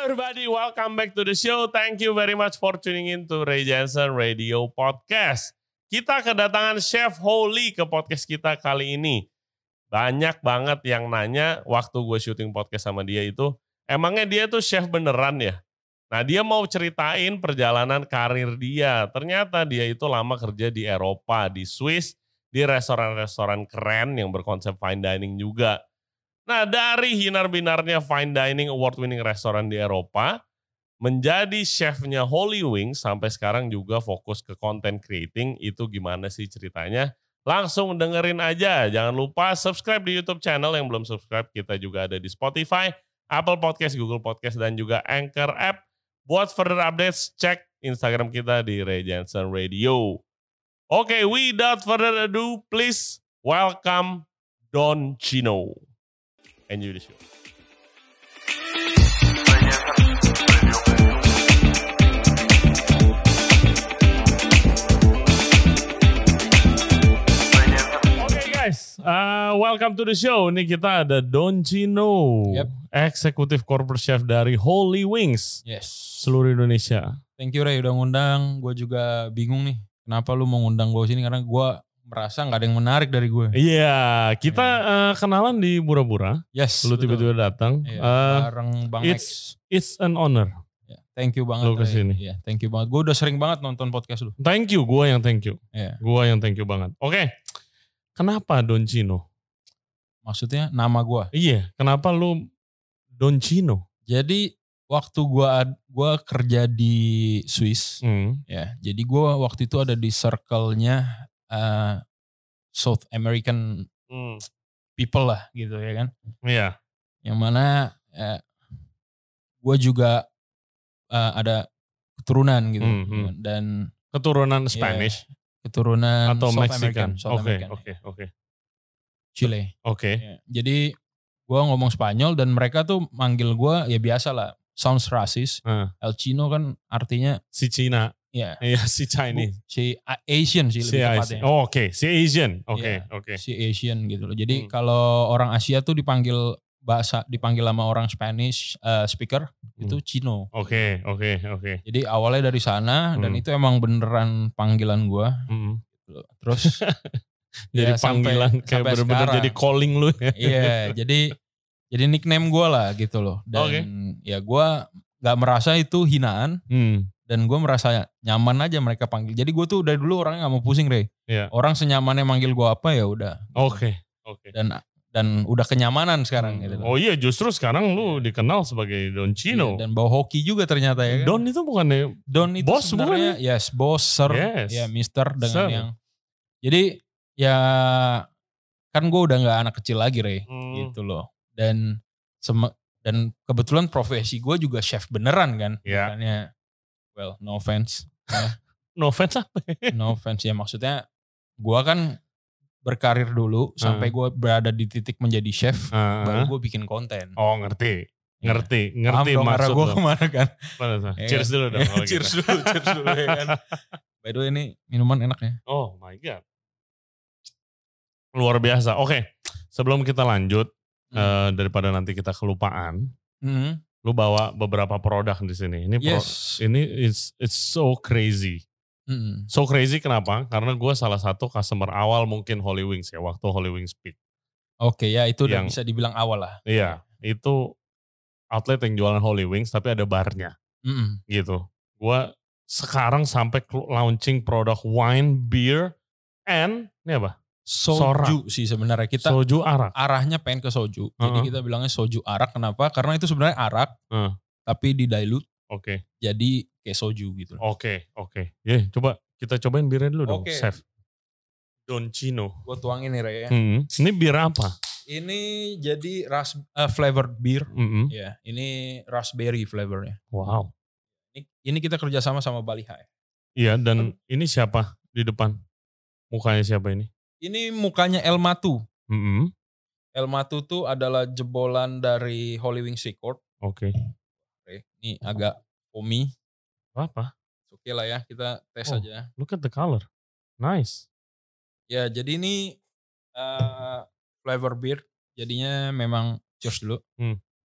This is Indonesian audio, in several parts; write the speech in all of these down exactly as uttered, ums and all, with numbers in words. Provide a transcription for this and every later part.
everybody, welcome back to the show. Thank you very much for tuning in to Ray Jensen Radio Podcast. Kita kedatangan Chef Holy ke podcast kita kali ini. Banyak banget yang nanya waktu gue syuting podcast sama dia itu, emangnya dia tuh chef beneran ya? Nah, dia mau ceritain perjalanan karir dia. Ternyata dia itu lama kerja di Eropa, di Swiss, di restoran-restoran keren yang berkonsep fine dining juga. Nah, dari hinar-binarnya fine dining award-winning restoran di Eropa, menjadi chefnya Holy Wings, sampai sekarang juga fokus ke content creating, itu gimana sih ceritanya? Langsung dengerin aja. Jangan lupa subscribe di YouTube channel yang belum subscribe. Kita juga ada di Spotify, Apple Podcast, Google Podcast, dan juga Anchor App. Buat further updates, cek Instagram kita di Ray Jensen Radio. Oke, okay, without further ado, please welcome Don Chino. Enjoy the show. Guys, uh, welcome to the show. Ini kita ada Don Chino, yep. Eksekutif Corporate Chef dari Holy Wings, yes, seluruh Indonesia. Thank you Ray udah ngundang. Gue juga bingung nih, kenapa lu mau ngundang gue sini, karena gue merasa nggak ada yang menarik dari gue. Iya, yeah, kita yeah. Uh, kenalan di Bura-Bura. Yes. Lu tiba-tiba datang. Yeah, uh, bareng Bang It's X. It's an honor. Yeah, thank you banget. Lu kesini. Iya, yeah, thank you banget. Gue udah sering banget nonton podcast lu. Thank you, gue yang thank you. Yeah. Gue yang thank you banget. Oke. Okay. Kenapa Don Chino? Maksudnya nama gue? Iya, kenapa lu Don Chino? Jadi waktu gue gua kerja di Swiss, hmm. ya. Jadi gue waktu itu ada di circle-nya uh, South American hmm. people lah, gitu ya kan? Iya. Yang mana uh, gue juga uh, ada keturunan gitu, hmm, hmm. dan keturunan Spanish. Ya, keturunan atau South Mexican. American, South Oke, American. oke, oke. Chile. Oke. Okay. Ya, jadi gue ngomong Spanyol dan mereka tuh manggil gue ya biasa lah, sounds racist. Uh. El Chino kan artinya si Cina. Ya. Iya, si Chinese. Bu, si Asian sih si lebih tepatnya. Oh, oke, okay. Si Asian. Oke, okay, ya, oke. Okay. Si Asian gitu loh. Jadi hmm. kalau orang Asia tuh dipanggil bahasa dipanggil sama orang Spanish uh, speaker hmm. itu Chino. Oke, okay, oke, okay, oke. Okay. Jadi awalnya dari sana hmm. dan itu emang beneran panggilan gue. Hmm. Terus jadi ya, panggilan sampai, kayak bener-bener jadi calling lu ya. Iya, jadi jadi nickname gue lah gitu loh. Dan okay. ya gue gak merasa itu hinaan. Hmm. Dan gue merasa nyaman aja mereka panggil. Jadi gue tuh dari dulu orangnya gak mau pusing, Ray. Yeah. Orang senyamannya manggil gue apa ya udah. Oke, okay. oke. Okay. Dan dan udah kenyamanan sekarang hmm. gitu loh. Oh iya, justru sekarang lu dikenal sebagai Don Chino. Iya, dan bawa hoki juga ternyata ya kan. Don itu bukannya Don itu bos sebenarnya bukan? Yes, bos, sir, yes. ya mister dengan sir. yang. Jadi ya kan gue udah gak anak kecil lagi, Ray. Hmm. Gitu loh. Dan sem- dan kebetulan profesi gue juga chef beneran kan. Yeah. Bukannya, well, no offense. no offense apa? No offense ya, maksudnya gue kan berkarir dulu uh. sampai gue berada di titik menjadi chef, uh. baru gue bikin konten. Oh ngerti, ngerti, ya. ngerti Paham maksud gue kemana kan. Ya, cheers dulu dong. Ya, cheers gitu. dulu, cheers dulu ya kan. By the way ini minuman enak ya. Oh my god. Luar biasa. Oke, okay. Sebelum kita lanjut, hmm. uh, daripada nanti kita kelupaan, hmm. lu bawa beberapa produk di sini. Ini yes. pro, ini it's it's so crazy. Hmm. So crazy kenapa? Karena gue salah satu customer awal mungkin Holy Wings ya, waktu Holy Wings Peak. Oke okay, ya itu udah bisa dibilang awal lah. Iya, itu outlet yang jualan Holy Wings tapi ada barnya. Hmm. Gitu. Gue sekarang sampai launching produk wine, beer, and ini apa? Soju Sorak. Sih sebenarnya kita soju arak. Arahnya pengen ke soju. Uh-huh. Jadi kita bilangnya soju arak. Kenapa? Karena itu sebenarnya arak, uh. tapi di dilute. Oke. Okay. Jadi kayak soju gitu. Oke, okay, oke. Okay. Ya, coba kita cobain birnya dulu dong, okay. Chef. Don Chino. Gue tuangin nih, Ray ya. Hmm. Ini bir apa? Ini jadi ras uh, flavored beer. Mm-hmm. Ya, ini raspberry flavornya. Wow. Ini, ini kita kerjasama sama Bali High. Iya, dan hmm. ini siapa di depan? Mukanya siapa ini? Ini mukanya El Matu. Mm-hmm. El Matu tuh adalah jebolan dari Holy Wings Record. Oke. Okay. Oke, ini agak foamy. Apa? Oke lah ya, kita tes oh, aja. Look at the color. Nice. Ya, jadi ini uh, flavor beer. Jadinya memang cheers dulu. Hmm.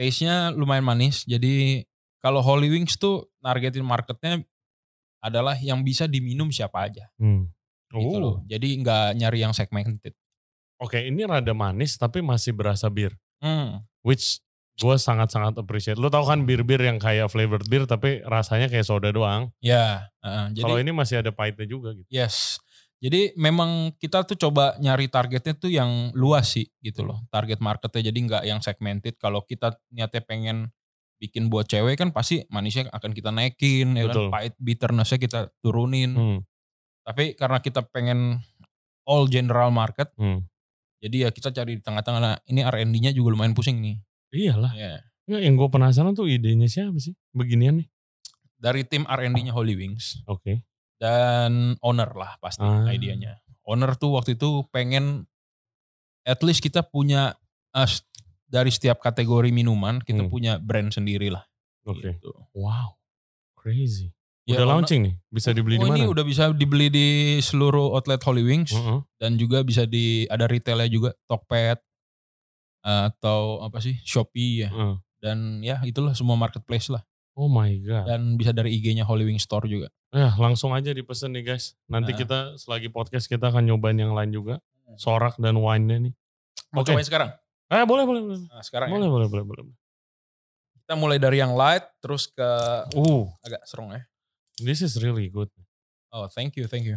taste-nya lumayan manis. Jadi kalau Holy Wings tuh targetin marketnya adalah yang bisa diminum siapa aja. Hmm. Oh. Gitu loh. Jadi nggak nyari yang segmented. Oke, ini rada manis tapi masih berasa bir. Hmm. Which gue sangat-sangat appreciate. Lu tau kan bir-bir yang kayak flavored beer tapi rasanya kayak soda doang. Ya. Uh, Kalau ini masih ada pahitnya juga gitu. Yes. Jadi memang kita tuh coba nyari targetnya tuh yang luas sih gitu loh. Target marketnya jadi nggak yang segmented. Kalau kita niatnya pengen bikin buat cewek kan pasti manisnya akan kita naikin. Ya kan? Pahit bitternessnya kita turunin. Hmm. Tapi karena kita pengen all general market. Hmm. Jadi ya kita cari di tengah-tengah. Nah, ini R and D-nya juga lumayan pusing nih. Iyalah. Yeah. Ya, yang gue penasaran tuh idenya siapa sih beginian nih? Dari tim R and D-nya Holy Wings. Oke. Okay. Dan owner lah pasti ah. idenya. Owner tuh waktu itu pengen at least kita punya uh, dari setiap kategori minuman kita hmm. punya brand sendiri lah. Oke. Okay. Gitu. Wow, crazy. Udah ya, launching nih, bisa dibeli oh, di mana? Ini udah bisa dibeli di seluruh outlet Holy Wings uh-huh. dan juga bisa di ada retailnya juga Tokped uh, atau apa sih Shopee ya uh. dan ya itulah semua marketplace lah. Oh my god. Dan bisa dari I G-nya Holy Wings Store juga. Ya langsung aja dipesen nih guys. Nanti uh. kita selagi podcast kita akan nyobain yang lain juga. Sorak dan wine-nya nih. Mau okay. cobain sekarang? Eh boleh boleh boleh. Nah, sekarang boleh, ya? boleh boleh boleh. Kita mulai dari yang light terus ke uh agak strong ya. This is really good. Oh thank you thank you.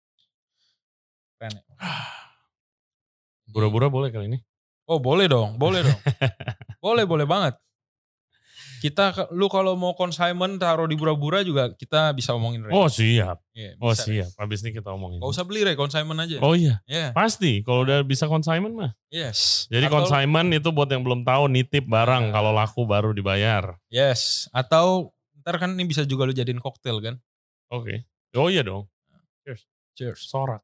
Keren ya. Bura-bura boleh kali ini? Oh boleh dong boleh dong. boleh boleh banget. Kita, lu kalau mau consignment taruh di Bura-Bura juga kita bisa omongin Ray. Oh siap. Yeah, oh siap. Ray. Habis ini kita omongin. Gak usah beli Ray, consignment aja. Oh iya. Yeah. Pasti. Kalau udah bisa consignment mah. Yes. Jadi atau, consignment itu buat yang belum tahu nitip barang. Uh, kalau laku baru dibayar. Yes. Atau ntar kan ini bisa juga lu jadiin koktail kan. Oke. Okay. Oh iya dong. Cheers. Cheers. Sorak.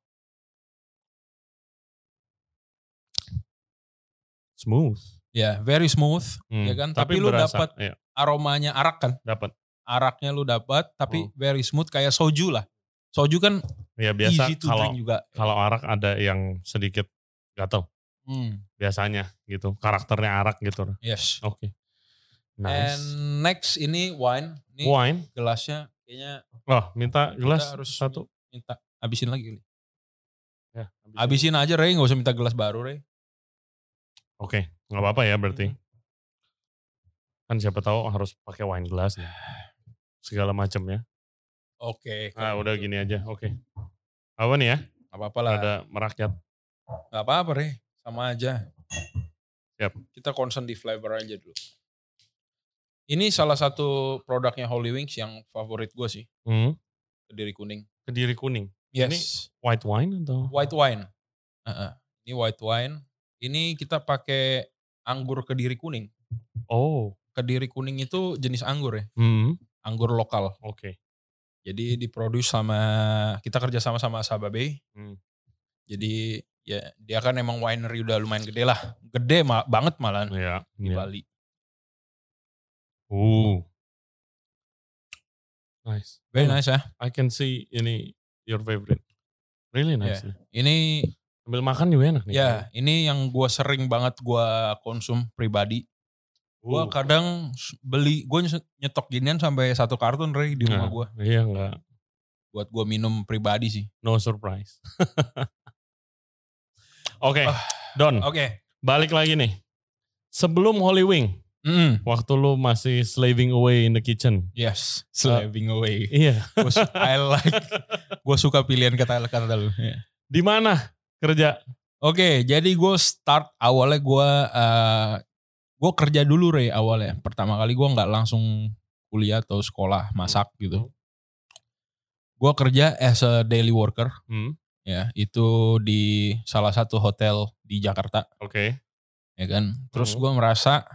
Smooth. Ya, yeah, very smooth, hmm. ya kan. Tapi, tapi lu dapat iya. aromanya arak kan? Dapat. Araknya lu dapat, tapi oh. very smooth kayak soju lah. Soju kan ya, biasa easy to kalau, drink juga. Kalau arak ada yang sedikit gatel. Hmm. Biasanya gitu. Karakternya arak gitu. Yes. Oke. Okay. Nice. And next ini wine. Ini wine. Gelasnya kayaknya. Oh, minta gelas harus satu. Minta habisin lagi. Ya, habisin. habisin aja Ray, gak usah minta gelas baru Ray. Oke, okay, nggak apa-apa ya berarti. Hmm. Kan siapa tahu harus pakai wine glass nih. Segala macamnya. Oke. Okay, ah udah gini aja. Oke. Okay. Apa nih ya? Gak apa-apa lah. Ada merakyat. Gak apa-apa Re, sama aja. Siap. Kita concern di flavor aja dulu. Ini salah satu produknya Holy Wings yang favorit gue sih. Hmm. Kediri kuning. Kediri kuning. Yes. Ini white wine atau? White wine. Uh-uh. Ini white wine. Ini kita pakai anggur Kediri kuning. Oh. Kediri kuning itu jenis anggur ya. Hmm. Anggur lokal. Oke. Okay. Jadi diproduksi sama, kita kerja sama sama Sababe. Hmm. Jadi ya dia kan emang winery udah lumayan gede lah. Gede ma- banget malah ya, di ya. Bali. Uh. Nice. Very oh, nice ya. I can see ini your favorite. Really nice. Yeah. Ini sambil makan juga enak nih. Ya, yeah, ini yang gue sering banget gue konsum pribadi. Gue uh. kadang beli, gue nyetok ginian sampai satu kartun Ray di rumah nah, gue. Iya enggak. Buat gue minum pribadi sih. No surprise. Oke, okay, uh, Don. Oke. Okay. Balik lagi nih. Sebelum Holy Wing, mm. waktu lu masih slaving away in the kitchen. Yes, slaving uh, away. Iya. I like. Gue suka pilihan kata-kata lu. Yeah. Di mana kerja? Oke, okay, jadi gue start awalnya gue uh, gue kerja dulu Ray awalnya. Pertama kali gue nggak langsung kuliah atau sekolah masak hmm. gitu. Gue kerja as a daily worker. Hmm. Ya, itu di salah satu hotel di Jakarta. Oke. Okay. Ya kan. Terus hmm. gue merasa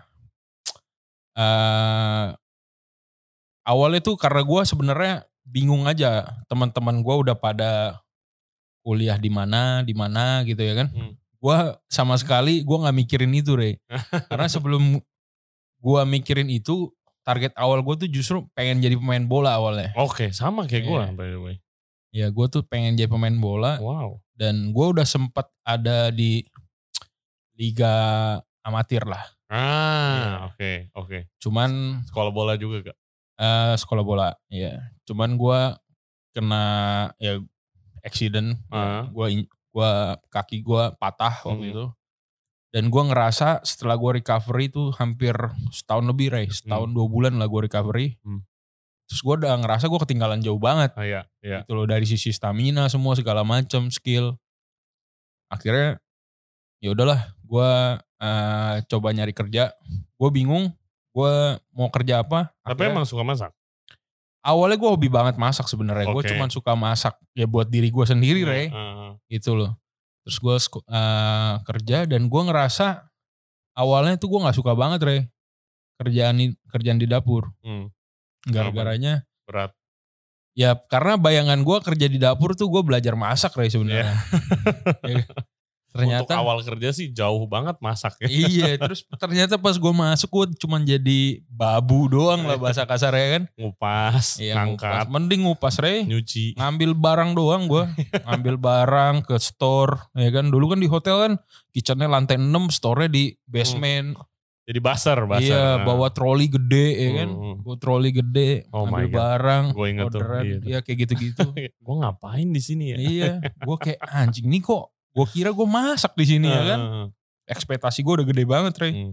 uh, awalnya tuh karena gue sebenarnya bingung aja. Teman-teman gue udah pada kuliah di mana, di mana gitu ya kan. Hmm. Gue sama sekali gue nggak mikirin itu Re. Karena sebelum gue mikirin itu, target awal gue tuh justru pengen jadi pemain bola awalnya. Oke, okay, sama kayak yeah. gue by the way. Ya gue tuh pengen jadi pemain bola. Wow. Dan gue udah sempat ada di liga amatir lah. Ah, oke, yeah. oke. Okay. Cuman sekolah bola juga gak? Uh, sekolah bola, ya. Yeah. Cuman gue kena ya accident, uh. ya. gue gua kaki gue patah waktu hmm. itu. Dan gue ngerasa setelah gue recovery itu hampir setahun lebih, Ray. Setahun hmm. dua bulan lah gue recovery. Hmm. Terus gue udah ngerasa gue ketinggalan jauh banget. Oh, iya, iya. Gitu loh, dari sisi stamina semua segala macam, skill. Akhirnya ya udahlah, gue uh, coba nyari kerja. Gue bingung, gue mau kerja apa. Tapi akhirnya, emang suka masak? Awalnya gue hobi banget masak sebenarnya. Okay. Gue cuma suka masak ya buat diri gue sendiri, uh, Ray. Uh. Gitu loh. Terus gue uh, kerja dan gue ngerasa awalnya tuh gue nggak suka banget, Ray, kerjaan kerjaan di dapur. Hmm. Gara-garanya berat. Ya karena bayangan gue kerja di dapur tuh gue belajar masak, Ray, sebenarnya. Yeah. Ternyata untuk awal kerja sih jauh banget masak ya. Iya, terus ternyata pas gue masuk gue cuma jadi babu doang lah bahasa kasarnya kan. Ngupas, iya, ngangkat. Ngupas. Mending ngupas, Ray. Nyuci. Ngambil barang doang gue. Ngambil barang ke store. Ya kan, dulu kan di hotel kan kitchennya lantai enam, store-nya di basement. Hmm. Jadi basar, basar. Iya, nah. Bawa troli gede ya kan. Hmm. Bawa troli gede, oh ngambil barang. Gue inget orderan, tuh. Iya kayak gitu-gitu. Gue ngapain di sini ya? Iya, gue kayak anjing nih kok. Gue kira gue masak di sini uh, ya kan. Ekspektasi gue udah gede banget, Ray. Hmm.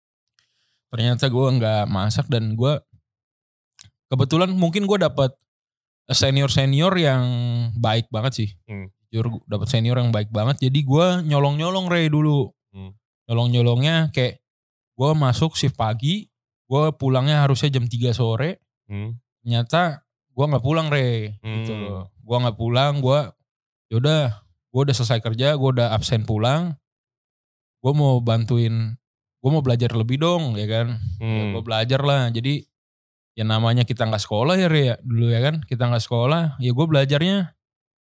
Ternyata gue nggak masak dan gue kebetulan mungkin gue dapat senior-senior yang baik banget sih. Hmm. Jujur dapat senior yang baik banget. Jadi gue nyolong-nyolong, Ray, dulu. Hmm. Nyolong-nyolongnya kayak gue masuk shift pagi, gue pulangnya harusnya jam tiga sore. Hmm. Ternyata gue nggak pulang, Ray. Hmm. Gitu loh. Gue nggak pulang, gue yaudah. Gue udah selesai kerja, gue udah absen pulang. Gue mau bantuin, gue mau belajar lebih dong, ya kan. Hmm. Ya, gue belajar lah. Jadi ya namanya kita gak sekolah ya, Ria, dulu ya kan. Kita gak sekolah, ya gue belajarnya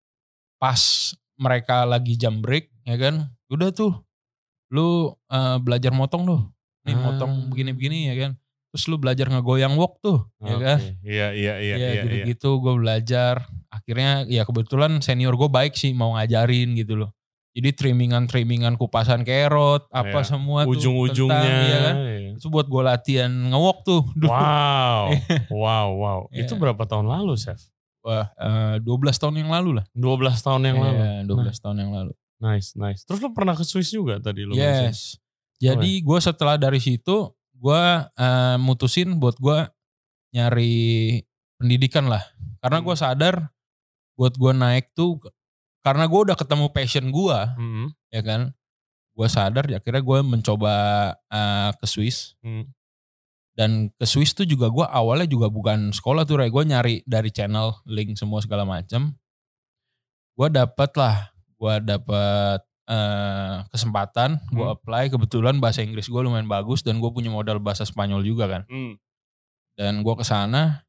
pas mereka lagi jam break, ya kan. Udah tuh, lu uh, belajar motong tuh. Nih hmm. motong begini-begini ya kan. Terus lu belajar ngegoyang wok tuh, okay. ya kan. Iya, iya, iya. Ya iya, gitu-gitu iya. Gue belajar. Akhirnya ya kebetulan senior gue baik sih mau ngajarin gitu loh. Jadi trimmingan-trimmingan kupasan kerot, apa ya, semua tuh. Ujung-ujungnya. Ya kan? Ya. Itu buat gue latihan ngewok tuh. Dulu. Wow, wow, wow. Ya. Itu berapa tahun lalu, Chef? Wah, uh, dua belas tahun yang lalu lah. dua belas tahun yang ya, lalu? dua belas nah. tahun yang lalu. Nice, nice. Terus lu pernah ke Swiss juga tadi lu? Yes. Mention? Jadi oh, ya? Gue setelah dari situ, gue uh, mutusin buat gue nyari pendidikan lah. Karena hmm. gue sadar buat gue naik tuh, karena gue udah ketemu passion gue, hmm. ya kan. Gue sadar, akhirnya gue mencoba uh, ke Swiss. Hmm. Dan ke Swiss tuh juga gue awalnya juga bukan sekolah tuh, Ray. Gue nyari dari channel, link semua segala macam. Gue dapet lah, gue dapet uh, kesempatan, hmm. gue apply. Kebetulan bahasa Inggris gue lumayan bagus dan gue punya modal bahasa Spanyol juga kan. Hmm. Dan gue kesana,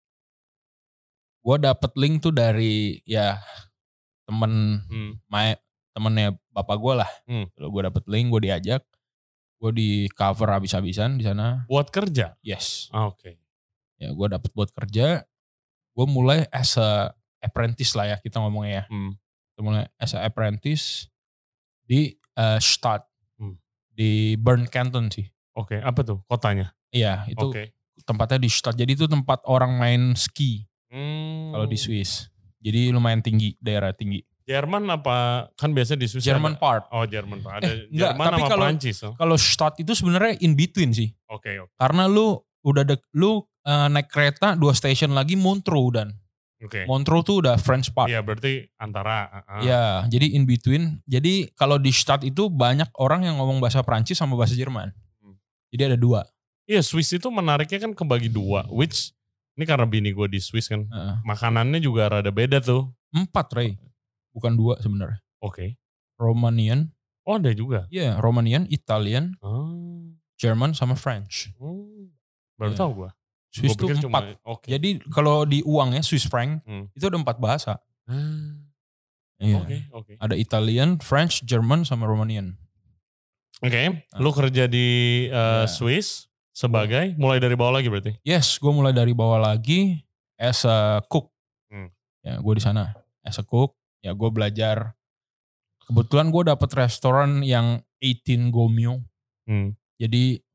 gue dapet link tuh dari ya temen, hmm. my, temennya bapak gue lah. Hmm. Gue dapet link, gue diajak, gue di cover habis-habisan di sana. Buat kerja? Yes. Ah, oke. Okay. Ya gue dapet buat kerja. Gue mulai as a apprentice lah ya kita ngomongnya ya. Hmm. Gue mulai as a apprentice di uh, Stad, hmm. di Bern Canton sih. Oke, okay. Apa tuh kotanya? Iya, itu okay. Tempatnya di Stad. Jadi itu tempat orang main ski. Hmm. Kalau di Swiss. Jadi lumayan tinggi, daerah tinggi. Jerman apa? Kan biasa di Swiss Jerman ada, part. Oh Jerman part. Ada eh, enggak, Jerman tapi sama kalau, Prancis. Oh? Kalau Stad itu sebenarnya in between sih. Oke. Okay, okay. Karena lu udah de, lu uh, naik kereta dua station lagi Montreux dan. Oke. Okay. Montreux tuh udah French part. Iya berarti antara. Uh, Iya, jadi in between. Jadi kalau di Stad itu banyak orang yang ngomong bahasa Prancis sama bahasa Jerman. Hmm. Jadi ada dua. Iya, Swiss itu menariknya kan kebagi dua, which ini karena bini gue di Swiss kan, uh-uh. makanannya juga rada beda tuh. Empat, Ray, bukan dua sebenarnya. Oke. Okay. Romanian. Oh ada juga? Iya, yeah, Romanian, Italian, oh. German sama French. Oh. Baru yeah. tahu gue. Swiss itu empat. Okay. Jadi kalau di uangnya Swiss franc hmm. itu ada empat bahasa. Hmm. Iya. Oke, okay, oke. Okay. Ada Italian, French, German sama Romanian. Oke, okay. Nah. Lu kerja di uh, yeah. Swiss. Sebagai, mulai dari bawah lagi berarti? Yes, gue mulai dari bawah lagi as a cook. Hmm. Ya, gue di sana as a cook. Ya, gue belajar. Kebetulan gue dapet restoran yang delapan Gomio. Hmm. Jadi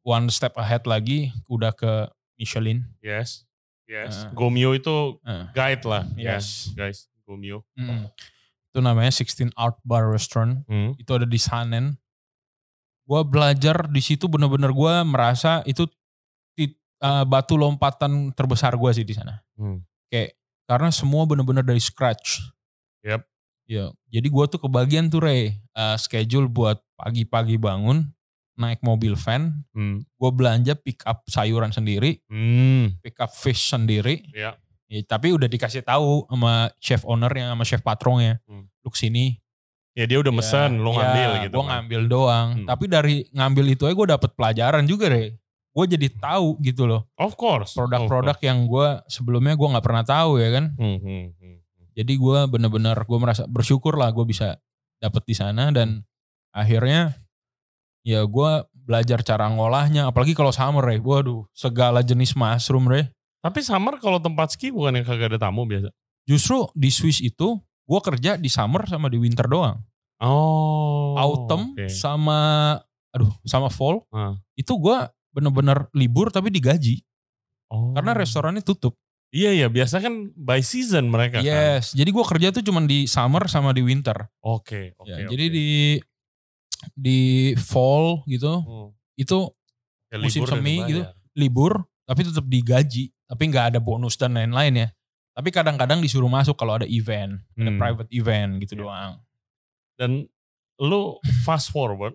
one step ahead lagi udah ke Michelin. Yes. Yes. Uh, Gomio itu uh, guide lah. Yes. Ya, guys. Gomio. Mm. Itu namanya sixteen Art Bar Restaurant. Hmm. Itu ada di Sanen. Gue belajar di situ bener-bener gue merasa itu uh, batu lompatan terbesar gue sih di sana. Hmm. Kayak karena semua bener-bener dari scratch. Yep. Ya, jadi gue tuh kebagian tuh Ray, uh, schedule buat pagi-pagi bangun, naik mobil van, hmm. gue belanja pick up sayuran sendiri, hmm. pick up fish sendiri. Yeah. Ya, tapi udah dikasih tahu sama chef ownernya, sama chef patronnya, hmm. lu kesini. Ya dia udah mesen, ya, lu ngambil ya, gitu. Gue kan. ngambil doang. Hmm. Tapi dari ngambil itu aja gue dapet pelajaran juga Ray. Gue jadi tahu gitu loh. Of course. Produk-produk yang gue sebelumnya gue nggak pernah tahu ya kan. Hmm, hmm, hmm. Jadi gue bener-bener gue merasa bersyukur lah gue bisa dapet di sana dan akhirnya ya gue belajar cara ngolahnya. Apalagi kalau summer Ray. Waduh segala jenis mushroom Ray. Tapi summer kalau tempat ski bukan yang kagak ada tamu biasa? Justru di Swiss itu gue kerja di summer sama di winter doang. Oh. Autumn okay. sama aduh sama fall huh. itu gue bener-bener libur tapi digaji. Oh. Karena restorannya tutup. Iya iya biasa kan by season mereka yes, kan. Jadi gue kerja tuh cuma di summer sama di winter. Oke. Okay, okay, ya, okay. Jadi di di fall gitu hmm. itu ya, musim semi gitu libur tapi tetap digaji. Tapi nggak ada bonus dan lain-lain ya. Tapi kadang-kadang disuruh masuk kalau ada event, hmm. ada private event gitu yeah. doang. Dan lu fast forward,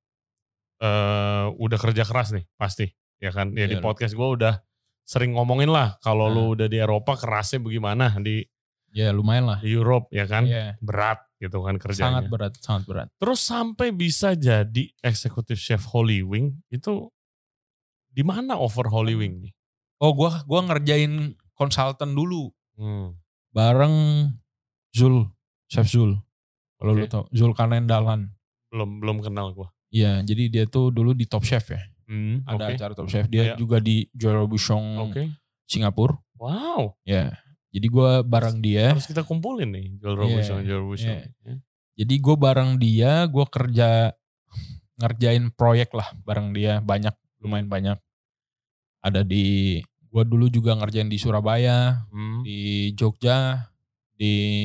uh, udah kerja keras nih pasti, ya kan? Ya yeah, di podcast gue udah sering ngomongin lah kalau nah. lu udah di Eropa kerasnya bagaimana di. Ya yeah, lumayan lah. Di Europe ya kan, yeah. berat gitu kan kerjanya. Sangat berat, sangat berat. Terus sampai bisa jadi eksekutif chef Holy Wing itu di mana over Holy Wing nih? Oh gue gua ngerjain konsultan dulu. Hmm. Bareng Zul, Chef Zul. Kalau okay. lu tau, Zulkarnain Dahlan. Belum belum kenal gue. Iya, jadi dia tuh dulu di Top Chef ya. Hmm, Ada okay. acara Top Chef. Dia yeah. juga di Joël Bouchon okay. Singapura. Wow. Ya, jadi gue bareng harus, dia. Harus kita kumpulin nih Joël yeah. Bouchon, Joël Bouchon. Yeah. Yeah. Jadi gue bareng dia, gue kerja ngerjain proyek lah bareng dia. Banyak, lumayan banyak. Ada di... Gue dulu juga ngerjain di Surabaya, hmm. di Jogja, di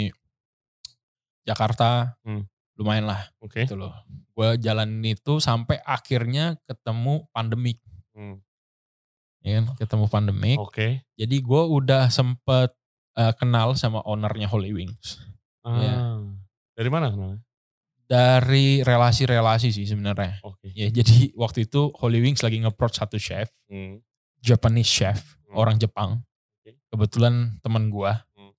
Jakarta, hmm. lumayan lah. Oke. Okay. Gitu loh. Gue jalanin itu sampai akhirnya ketemu pandemik. Hmm. Ya kan, ketemu pandemik. Oke. Okay. Jadi gue udah sempet uh, kenal sama ownernya Holy Wings. Ah. Ya. Dari mana kenalnya? Dari relasi-relasi sih sebenarnya. Oke. Okay. Ya jadi waktu itu Holy Wings lagi nge-approach satu chef. Hmm. Japanese chef, hmm. orang Jepang. Okay. Kebetulan teman gua. Hmm.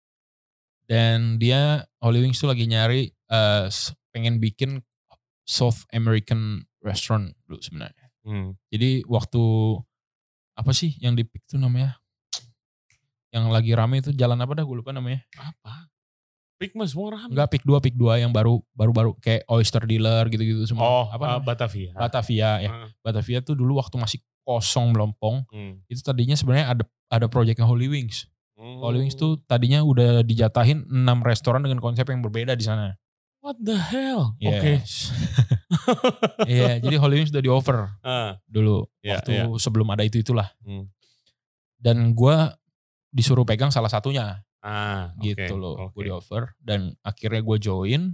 Dan dia, Holy Wings tuh lagi nyari, uh, pengen bikin South American restaurant dulu sebenarnya. Hmm. Jadi waktu, apa sih yang di pick tuh namanya? Yang lagi rame itu jalan apa dah, gue lupa namanya. Apa? Pick mas semua rame. Enggak, pick dua, pick dua yang baru, baru-baru kayak Oyster Dealer gitu-gitu semua. Oh, apa uh, Batavia. Batavia ya. Hmm. Batavia tuh dulu waktu masih kosong melompong, hmm. itu tadinya sebenarnya ada ada proyeknya Holy Wings. Hmm. Holy Wings tuh tadinya udah dijatahin enam restoran dengan konsep yang berbeda di sana. What the hell? Yes. Oke. Okay. Iya, yeah, jadi Holy Wings udah di over uh, dulu yeah, waktu yeah. sebelum ada itu itulah. Hmm. Dan gue disuruh pegang salah satunya, ah, gitu okay, loh, okay. gue di over dan akhirnya gue join.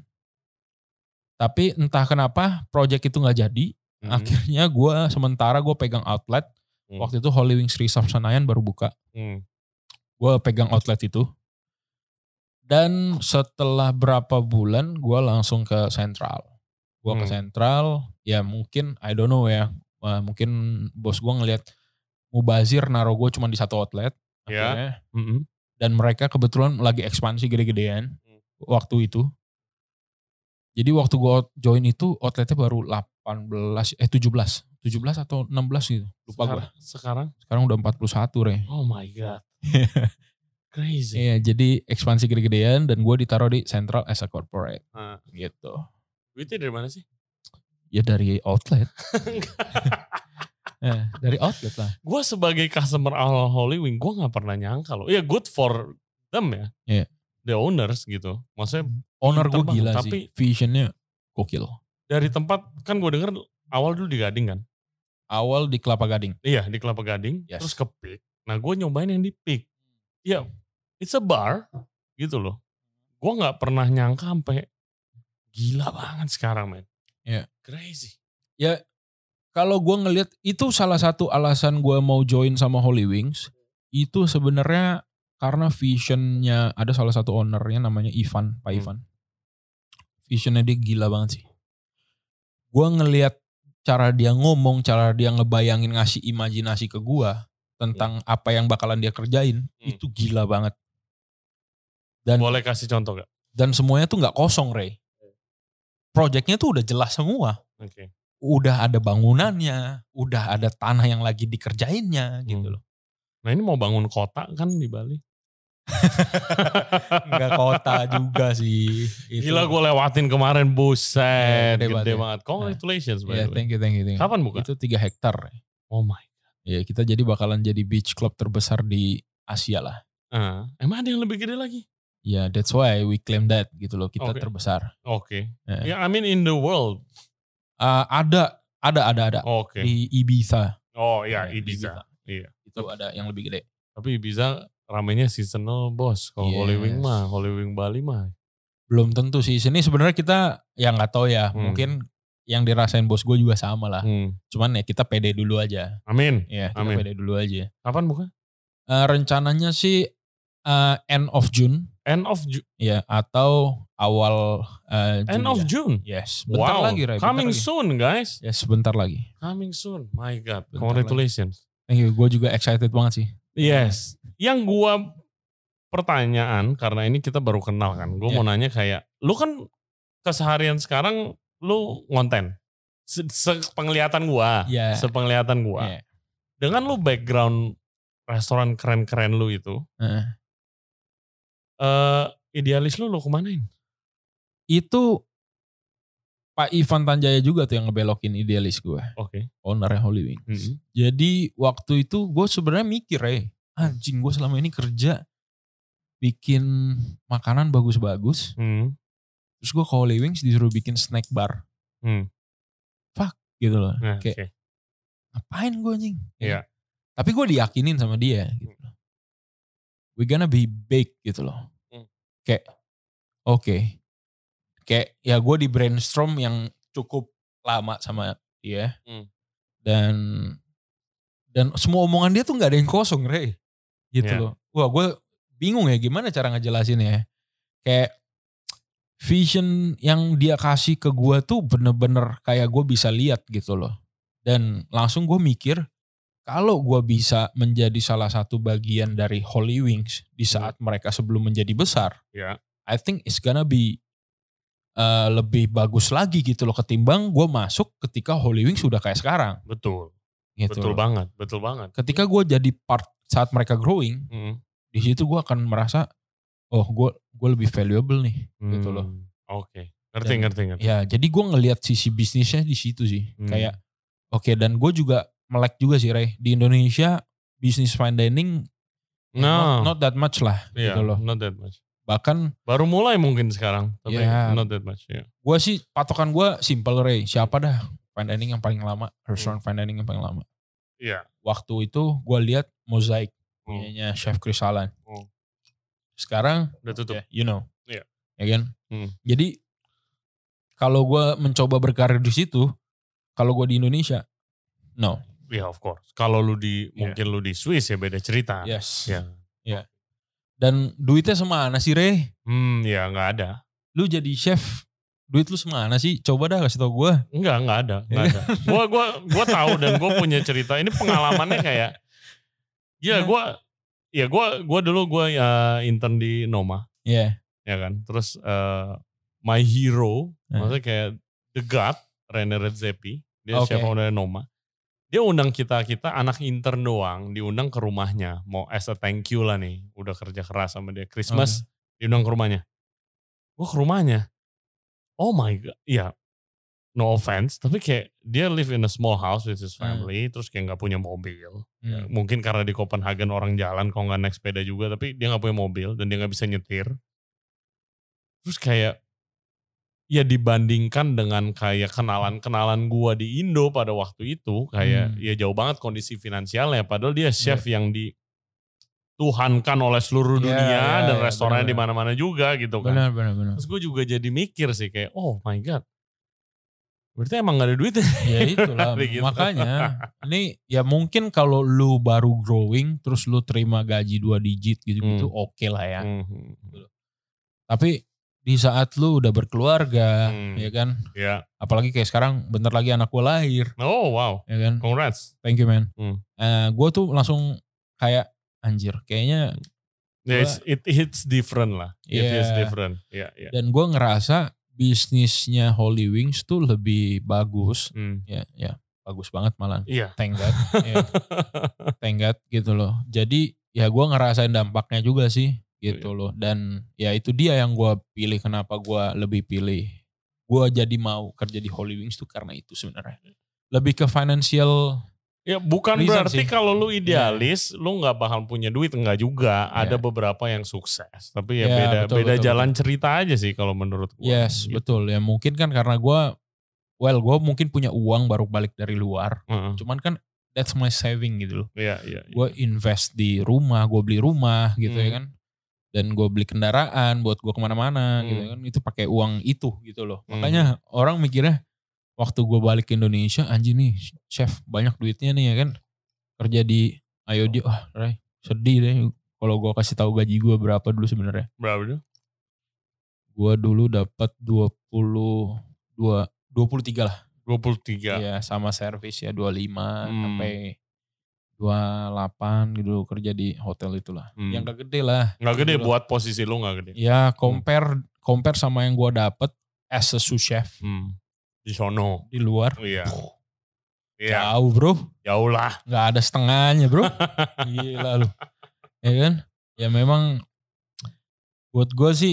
Tapi entah kenapa project itu nggak jadi. Hmm. Akhirnya gue sementara gue pegang outlet. Hmm. Waktu itu Holy Wings Resort Senayan baru buka. Hmm. Gue pegang outlet itu. Dan setelah berapa bulan gue langsung ke Central. Gue hmm. ke Central. Ya mungkin I don't know ya. Mungkin bos gue ngelihat mubazir naruh gue cuma di satu outlet. Ya. Yeah. Mm-hmm. Dan mereka kebetulan lagi ekspansi gede-gedean. Hmm. Waktu itu. Jadi waktu gue join itu outletnya baru delapan belas, eh tujuh belas. tujuh belas atau enam belas gitu. Lupa gue. Sekarang? Sekarang udah empat puluh satu Re. Oh my God. Crazy. Iya jadi ekspansi gede-gedean dan gue ditaruh di Central as a corporate. Hmm. Gitu. Duitnya dari mana sih? Ya dari outlet. Ya, dari outlet lah. Gue sebagai customer awal Holy Wing, gue gak pernah nyangka loh. Ya good for them ya. Iya. The owners gitu. Maksudnya owner gue gila tapi sih. Visionnya gokil. Dari tempat, kan gue denger awal dulu di Gading kan? Awal di Kelapa Gading. Iya di Kelapa Gading, Yes. terus ke Peak. Nah gue nyobain yang di Peak. Ya, it's a bar gitu loh. Gue gak pernah nyangka sampai gila banget sekarang men. Ya. Crazy. Ya kalau gue ngelihat itu salah satu alasan gue mau join sama Holy Wings. Itu sebenarnya karena visionnya ada salah satu ownernya namanya Ivan, Pak Hmm. Ivan. Visionnya dia gila banget sih. Gue ngelihat cara dia ngomong, cara dia ngebayangin ngasih imajinasi ke gue tentang apa yang bakalan dia kerjain, Hmm. itu gila banget. Dan Boleh kasih contoh gak? dan semuanya tuh nggak kosong, Ray. Projectnya tuh udah jelas semua. Oke. Okay. Udah ada bangunannya, udah ada tanah yang lagi dikerjainnya gitu Hmm. loh. Nah ini mau bangun kota kan di Bali. Enggak kota juga sih. Itu. Gila gue lewatin kemarin, buset. Ya, gede gede, banget ya. banget. Congratulations by Ya, the way. thank you, thank you, thank you. Kapan buka? Itu tiga hektar. Oh my. Ya kita jadi bakalan jadi beach club terbesar di Asia lah. Uh, emang ada yang lebih gede lagi? Ya, yeah, that's why we claim that gitu loh. Kita Okay. terbesar. Oke. Okay. Ya, Yeah, I mean in the world. Uh, ada, ada, ada, ada. Oke. Okay. Di Ibiza. Oh ya, Ya, Ibiza. Iya. Itu ada yang lebih gede. Tapi Ibiza ramenya seasonal bos. Kalau Yes. Holy Wing mah, Holy Wing Bali mah. Belum tentu sih. Sini sebenarnya kita ya nggak tahu ya. Hmm. Mungkin yang dirasain bos gue juga sama lah. Hmm. Cuman ya kita pede dulu aja. Amin. Ya, kita Amin. pede dulu aja. Kapan buka? Uh, rencananya sih uh, end of June. End of June. Ya, atau awal uh, Juni. End of ya. June. Yes, bentar wow. lagi, Ray. Coming lagi. soon, guys. Yes, bentar lagi. Coming soon. My God. Bentar Congratulations. Thank you. Gue juga excited banget sih. Yes. Yang gua pertanyaan, karena ini kita baru kenal kan. Gue Yeah. mau nanya kayak, lu kan keseharian sekarang lu ngonten. Se- Sepenglihatan gua. Yeah. Sepenglihatan gua. Yeah. Dengan lu background restoran keren-keren lu itu. Uh. Uh, idealis lu lu kemanain? Itu Pak Ivan Tanjaya juga tuh yang ngebelokin idealis gue. Oke. Okay. Ownernya Holy Wings. Mm-hmm. Jadi waktu itu gue sebenarnya mikir ya, anjing gue selama ini kerja bikin makanan bagus-bagus. Mm. Terus gue ke Holy Wings disuruh bikin snack bar. Mm. Fuck gitu loh. Nah, kayak okay. ngapain gue anjing? Iya. Yeah. Tapi gue diyakinin sama dia gitu loh. We gonna be big gitu loh. Mm. Kayak oke. Okay. Kayak ya gue di brainstorm yang cukup lama sama dia. Mm. Dan dan semua omongan dia tuh gak ada yang kosong, Ray. Gitu yeah. loh. Wah gue bingung ya gimana cara ngejelasin ya. Kayak vision yang dia kasih ke gue tuh bener-bener kayak gue bisa lihat gitu loh. Dan langsung gue mikir, kalau gue bisa menjadi salah satu bagian dari Holy Wings di saat hmm. mereka sebelum menjadi besar, yeah. I think it's gonna be uh, lebih bagus lagi gitu loh ketimbang gue masuk ketika Holy Wings sudah kayak sekarang. Betul, gitu betul loh. banget, betul banget. Ketika gue jadi part saat mereka growing, hmm. di situ gue akan merasa, oh gue gue lebih valuable nih, hmm. gitu loh. Oke, okay. ngerti, dan, ngerti, ngerti. Ya, jadi gue ngelihat sisi bisnisnya di situ sih, hmm. kayak oke okay, dan gue juga melek juga sih Ray, di Indonesia bisnis fine dining no. not, not that much lah yeah, gitu loh. Not that much. Bahkan baru mulai mungkin sekarang, tapi yeah, not that much. Yeah. Gue sih patokan gue simple Ray, siapa dah fine dining yang paling lama, restoran hmm. fine dining yang paling lama. Iya. Yeah. Waktu itu gue lihat Mosaic punyanya hmm. Chef Chris Allen. Hmm. Sekarang udah tutup. Yeah, you know, yeah. ya kan. Hmm. Jadi kalau gue mencoba berkarir di situ, kalau gue di Indonesia, no. Ya yeah, of course. Kalau lu di yeah. mungkin lu di Swiss ya beda cerita. Yes. Ya. Yeah. Yeah. Dan duitnya semana sih Ray? Hmm ya nggak ada. Lu jadi chef, duit lu semana sih? Coba dah kasih tau gue. Enggak, nggak ada, nggak ada. Gue gua gua tahu dan gue punya cerita. Ini pengalamannya kayak, ya gue, ya gue gue dulu gue ya intern di Noma. Iya. Yeah. Ya kan. Terus uh, my hero, uh. maksudnya kayak the god Rene Redzepi, dia okay. chef owner Noma. Dia undang kita-kita anak intern doang, diundang ke rumahnya. Mau as a thank you lah nih, udah kerja keras sama dia. Christmas, okay. diundang ke rumahnya. Gue ke rumahnya, oh my god, ya no offense, tapi kayak dia live in a small house with his family, hmm. terus kayak gak punya mobil. Hmm. Ya, mungkin karena di Copenhagen orang jalan, kalau gak naik sepeda juga, tapi dia gak punya mobil dan dia gak bisa nyetir. Terus kayak, ya dibandingkan dengan kayak kenalan-kenalan gua di Indo pada waktu itu kayak Hmm. ya jauh banget kondisi finansialnya padahal dia chef yeah. yang dituhankan oleh seluruh Yeah, dunia yeah, dan yeah, restoran di benar-benar. mana-mana juga gitu kan. Benar benar benar. Terus gue juga jadi mikir sih kayak oh my god. Berarti emang gak ada duit ya itulah gitu. Makanya ini ya mungkin kalau lu baru growing terus lu terima gaji dua digit gitu-gitu Hmm. oke okay lah ya. Hmm. Tapi di saat lu udah berkeluarga, Hmm. ya kan? Ya. Apalagi kayak sekarang bentar lagi anak gue lahir. Oh wow. Ya kan? Congrats. Thank you man. Hmm. Uh, gue tuh langsung kayak anjir, kayaknya. Yeah, it's, it it's different lah. It yeah. is different. Yeah, yeah. Dan gue ngerasa bisnisnya Holy Wings tuh lebih bagus. Hmm. Ya, ya, bagus banget malah. Iya. Thank God. ya. Thank God gitu loh. Jadi ya gue ngerasain dampaknya juga sih. Gitu loh. Dan ya itu dia yang gue pilih. Kenapa gue lebih pilih. Gue jadi mau kerja di Holy Wings tuh karena itu sebenarnya. Lebih ke financial. Ya bukan berarti kalau lu idealis. Yeah. Lu gak bakal punya duit. Enggak juga. Yeah. Ada beberapa yang sukses. Tapi ya yeah, beda, betul, beda betul, jalan betul. cerita aja sih kalau menurut gue. Yes gitu. Betul. Ya mungkin kan karena gue. Well gue mungkin punya uang baru balik dari luar. Uh-huh. Cuman kan. That's my saving gitu loh. Iya yeah, yeah, yeah. Gue invest di rumah. Gue beli rumah gitu hmm. ya kan. Dan gue beli kendaraan buat gue kemana-mana hmm. gitu kan. Itu pakai uang itu gitu loh. Hmm. Makanya orang mikirnya waktu gue balik ke Indonesia, anjing nih chef banyak duitnya nih ya kan. Kerja di Ayo dia, wah Ray sedih deh. Kalau gue kasih tahu gaji gue berapa dulu sebenarnya. Berapa dulu? Gue dulu dapat dua puluh dua, dua puluh tiga lah. dua puluh tiga. Iya sama servis ya dua puluh lima hmm. sampai dua puluh delapan gitu kerja di hotel itulah. Hmm. Yang gak gede lah. Gak gede gitu buat posisi lu gak gede. Ya compare hmm. compare sama yang gue dapet as a sous chef. Hmm. Di sono. Di luar. Oh, iya. Puh, iya. jauh bro. Jauh lah. Gak ada setengahnya bro. Gila lu. Ya kan. Ya memang buat gue sih.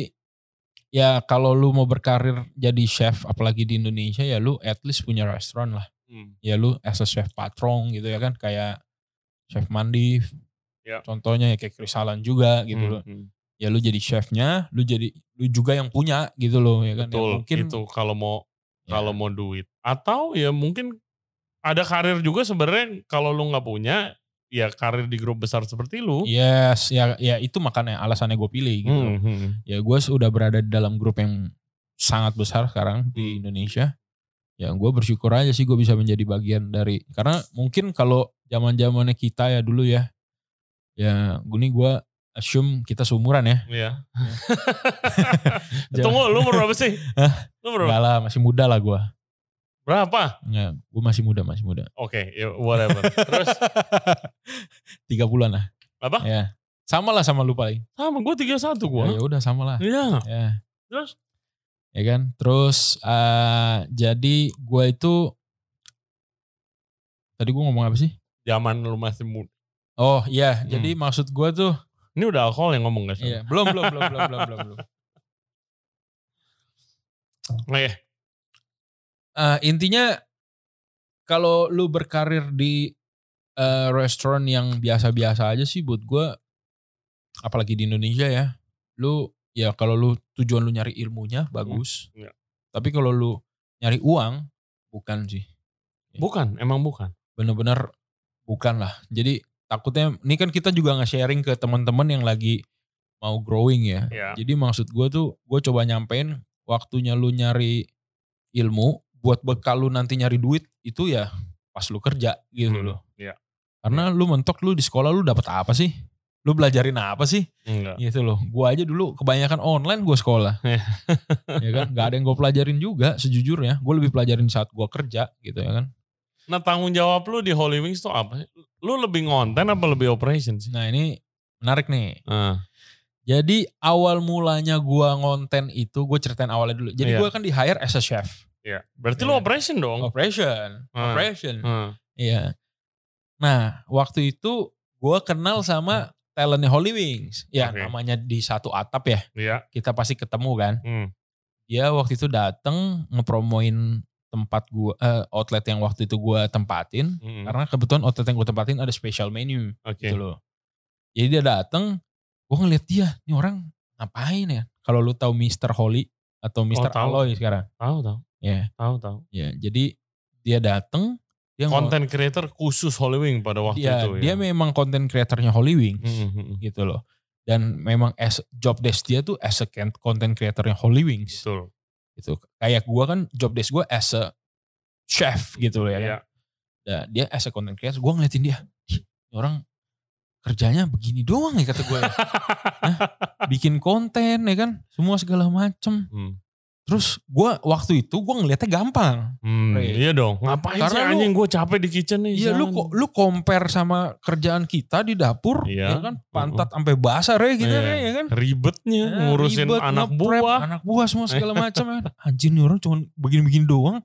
Ya kalau lu mau berkarir jadi chef. Apalagi di Indonesia ya lu at least punya restoran lah. Hmm. Ya lu as a chef patron gitu ya kan. Kayak Chef Mandif, ya. Contohnya ya kayak Chris Alan juga gitu hmm, loh. Hmm. Ya lu jadi chefnya, lu jadi lu juga yang punya gitu loh ya kan. Betul, ya, mungkin itu kalau mau ya. kalau mau duit. Atau ya mungkin ada karir juga sebenarnya kalau lu nggak punya, ya karir di grup besar seperti lu. Yes, ya ya itu makanya alasannya gue pilih gitu. Hmm, hmm. Ya gue sudah berada di dalam grup yang sangat besar sekarang di hmm. Indonesia. Ya gue bersyukur aja sih gue bisa menjadi bagian dari, karena mungkin kalau zaman-zamannya kita ya dulu ya, ya gini gue assume kita seumuran ya. Iya. Tunggu, lu umur berapa sih? Hah? Lu berapa? Enggak lah, masih muda lah gue. Berapa? Enggak, gue masih muda, masih muda. Oke, okay, ya whatever. Terus? tiga bulan lah. Apa? Ya, sama lah sama lu paling. Sama, gue tiga puluh satu gue. Ya udah sama lah. Iya. Ya. Terus? Ya kan, terus uh, jadi gue itu tadi gue ngomong apa sih? Zaman lu masih muda. Oh iya, hmm. jadi maksud gue tuh ini udah alkohol yang ngomong guys. Iya, belum belum belum belum belum belum belum. Nah, ya. uh, intinya kalau lu berkarir di uh, restoran yang biasa-biasa aja sih buat gue, apalagi di Indonesia ya, lu ya kalau lu tujuan lu nyari ilmunya bagus. Hmm, ya. Tapi kalau lu nyari uang bukan sih. Bukan, emang bukan. Bener-bener bukan lah. Jadi takutnya ini kan kita juga nge-sharing ke teman-teman yang lagi mau growing ya. ya. Jadi maksud gue tuh gue coba nyampein waktunya lu nyari ilmu buat bekal lu nanti nyari duit itu ya pas lu kerja gitu hmm, loh. Ya. Karena ya. Lu mentok lu di sekolah lu dapet apa sih? Lu belajarin apa sih? Enggak. Gitu loh. Gue aja dulu kebanyakan online gue sekolah. Ya kan? Gak ada yang gue pelajarin juga sejujurnya. Gue lebih pelajarin saat gue kerja gitu ya kan. Nah tanggung jawab lu di Holy Wings tuh apa? Lu lebih ngonten apa lebih operation sih? Nah ini menarik nih. Uh. Jadi awal mulanya gue ngonten itu, gue ceritain awalnya dulu. Jadi yeah. gue kan di hire as a chef. Iya. Yeah. Berarti yeah. lu operation dong? Operation. Uh. Operation. Iya. Uh. Yeah. Nah waktu itu gue kenal sama talentnya Holy Wings. Ya okay. namanya di satu atap ya. Iya. Yeah. Kita pasti ketemu kan. Hmm. Dia waktu itu dateng ngepromoin tempat gua uh, outlet yang waktu itu gua tempatin, mm-hmm. karena kebetulan outlet yang gua tempatin ada special menu okay. gitu loh. Jadi dia dateng, gua ngeliat dia, nih orang ngapain ya? Kalau lu tahu mister Holy, atau mister tahu. Aloy sekarang. Tahu tahu. Ya. Tahu tahu. Ya, jadi dia datang, dia Content creator khusus Holy Wing pada waktu dia, itu. Dia ya. memang content creatornya Holy Wings Hmm, hmm. gitu loh. Dan memang as job desk dia tuh as a content creatornya Holy Wings. Betul. Gitu. Kayak gue kan job desk gue as a chef gitu loh ya kan. Iya. Nah, dia as a content creator, gue ngeliatin dia, orang kerjanya begini doang ya kata gue ya. Hah? Bikin konten ya kan, semua segala macem. Hmm. Terus gue waktu itu gue ngeliatnya gampang. Hmm, iya dong. Ngapain Karena sih anjing, gue capek di kitchen nih. Iya, lu kok lu compare sama kerjaan kita di dapur, iya. ya kan, pantat sampai uh-uh. basah re gitu iya. ya kan. Ribetnya ya, ngurusin ribet, anak nge-prep, buah, anak buah semua segala macam ya. Anjing nih orang cuma begini-begini doang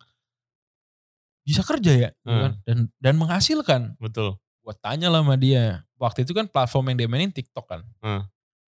bisa kerja ya, hmm. kan? dan dan menghasilkan. Betul. Gue tanya lah sama dia. Waktu itu kan platform yang dia mainin TikTok kan. Hmm.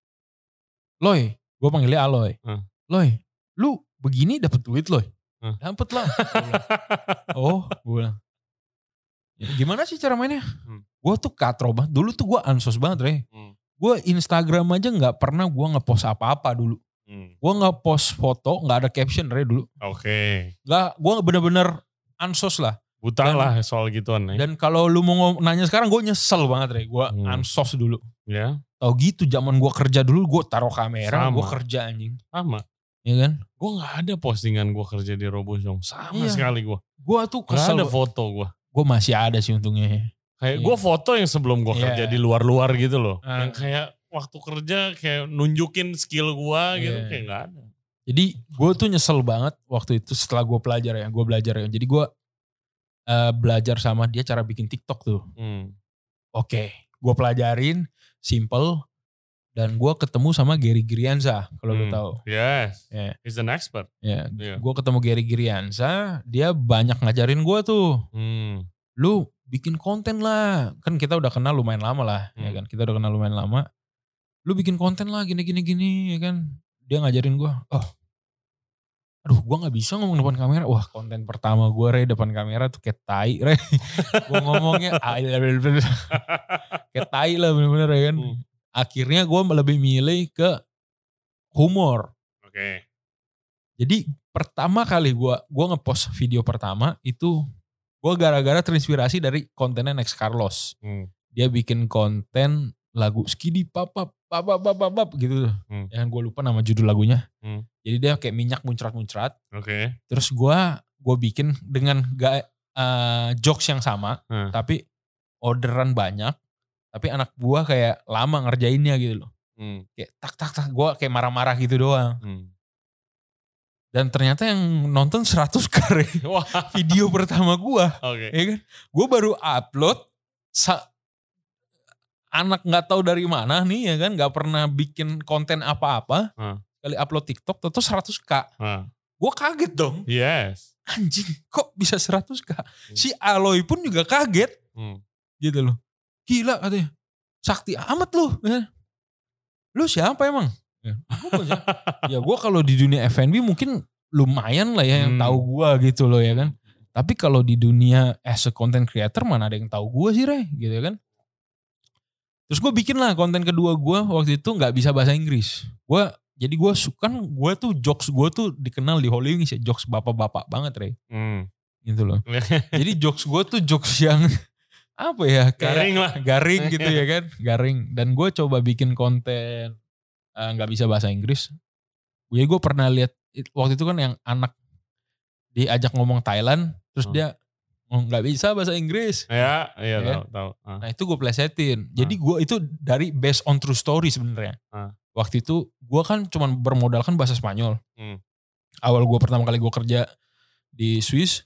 Loy, gue panggilnya Aloy. Hmm. Loy, lu begini dapat duit loh. Hmm. Dapat lah. Oh, gue bilang. Ya, gimana sih cara mainnya? Hmm. Gue tuh katro banget. Dulu tuh gue ansos banget, Re. Hmm. Gue Instagram aja gak pernah gue ngepost apa-apa dulu. Hmm. Gue ngepost foto, gak ada caption, Re, dulu. Oke. Okay. Gak, gue bener-bener ansos lah. Buta dan, lah soal gituan. Ya. Dan kalau lu mau nanya sekarang, gue nyesel banget, Re. Gue hmm. ansos dulu. Ya. Yeah. Tau gitu, zaman gue kerja dulu, gue taruh kamera, gue kerja anjing. Sama. Iya kan? Gue gak ada postingan gue kerja di Robozyong. Sama iya. sekali gue. Gue tuh kesel. Gak ada foto gue. Gue masih ada sih untungnya. Kayak iya. gue foto yang sebelum gue kerja iya. di luar-luar gitu loh. Uh. Yang kayak waktu kerja kayak nunjukin skill gue gitu. Iya. Kayak gak ada. Jadi gue tuh nyesel banget waktu itu setelah gue pelajar ya. Gue belajar ya. Jadi gue uh, belajar sama dia cara bikin TikTok tuh. Hmm. Oke. Okay. Gue pelajarin. Simple. Dan gue ketemu sama Gary Girianza, kalau hmm. lu tahu. Yes, yeah. He's an expert. Yeah. Yeah. Gue ketemu Gary Girianza, dia banyak ngajarin gue tuh. Hmm. Lu bikin konten lah, kan kita udah kenal lumayan lama lah, hmm. ya kan. Kita udah kenal lumayan lama. Lu bikin konten lah, gini-gini-gini, ya kan. Dia ngajarin gue, oh, aduh gue nggak bisa ngomong depan kamera. Wah, konten pertama gue Re depan kamera tuh kayak tai, Re. Gue ngomongnya, kayak tai lah bener-bener ya kan. Hmm. Akhirnya gue lebih milih ke humor. Oke. Okay. Jadi pertama kali gue gue ngepost video pertama itu gue gara-gara terinspirasi dari kontennya Next Carlos. Hmm. Dia bikin konten lagu skidi papa papa papa papa gitu. Hmm. Yang gue lupa nama judul lagunya. Hmm. Jadi dia kayak minyak muncrat-muncrat. Oke. Okay. Terus gue gue bikin dengan gak, uh, jokes yang sama, hmm. tapi orderan banyak. Tapi anak buah kayak lama ngerjainnya gitu loh. Hmm. Kayak tak tak tak gue kayak marah-marah gitu doang. Hmm. Dan ternyata yang nonton seratus kali video pertama gue. Okay. Ya kan? Gue baru upload. Sa- anak gak tahu dari mana nih ya kan. Gak pernah bikin konten apa-apa. Hmm. Kali upload TikTok tentu seratus ribu. Hmm. Gue kaget dong. Yes. Anjing kok bisa seratus ribu. Hmm. Si Aloy pun juga kaget. Hmm. Gitu loh. Gila katanya, sakti amat lu. Lu siapa emang? Ya, ya gue kalau di dunia F and B mungkin lumayan lah ya yang hmm. tahu gue gitu loh ya kan. Tapi kalau di dunia as a content creator mana ada yang tahu gue sih Re gitu kan. Terus gue bikin lah konten kedua gue waktu itu gak bisa bahasa Inggris. Gue jadi gue suka, gue tuh jokes gue tuh dikenal di Holy Wings ya, jokes bapak-bapak banget Re. Hmm. Gitu loh. Jadi jokes gue tuh jokes yang apa ya kayak garing lah garing gitu ya kan, garing. Dan gue coba bikin konten nggak uh, bisa bahasa Inggris. Jadi gue pernah lihat waktu itu kan yang anak diajak ngomong Thailand terus hmm. dia nggak bisa bahasa Inggris ya iya ya, tahu tahu uh. Nah itu gue plesetin. Jadi gue itu dari based on true story sebenarnya. uh. Waktu itu gue kan cuma bermodalkan bahasa Spanyol. hmm. Awal gue pertama kali gue kerja di Swiss,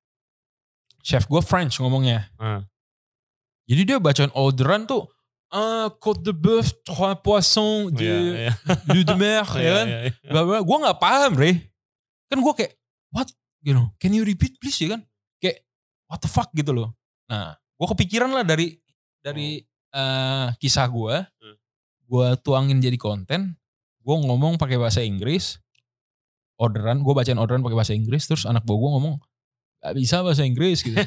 chef gue French ngomongnya. uh. Jadi dia bacain orderan tuh, ah, côte de bœuf, trois poissons, de, yeah, yeah. de, de mer, ya kan. Yeah, yeah, yeah. Gue gak paham, Re. Kan gue kayak, what? You know, can you repeat please, ya kan? Kayak, what the fuck gitu loh. Nah, gue kepikiran lah dari dari uh, kisah gue. Hmm. Gue tuangin jadi konten. Gue ngomong pakai bahasa Inggris. Orderan, gue bacain orderan pakai bahasa Inggris. Terus anak gue ngomong, gak bisa bahasa Inggris gitu.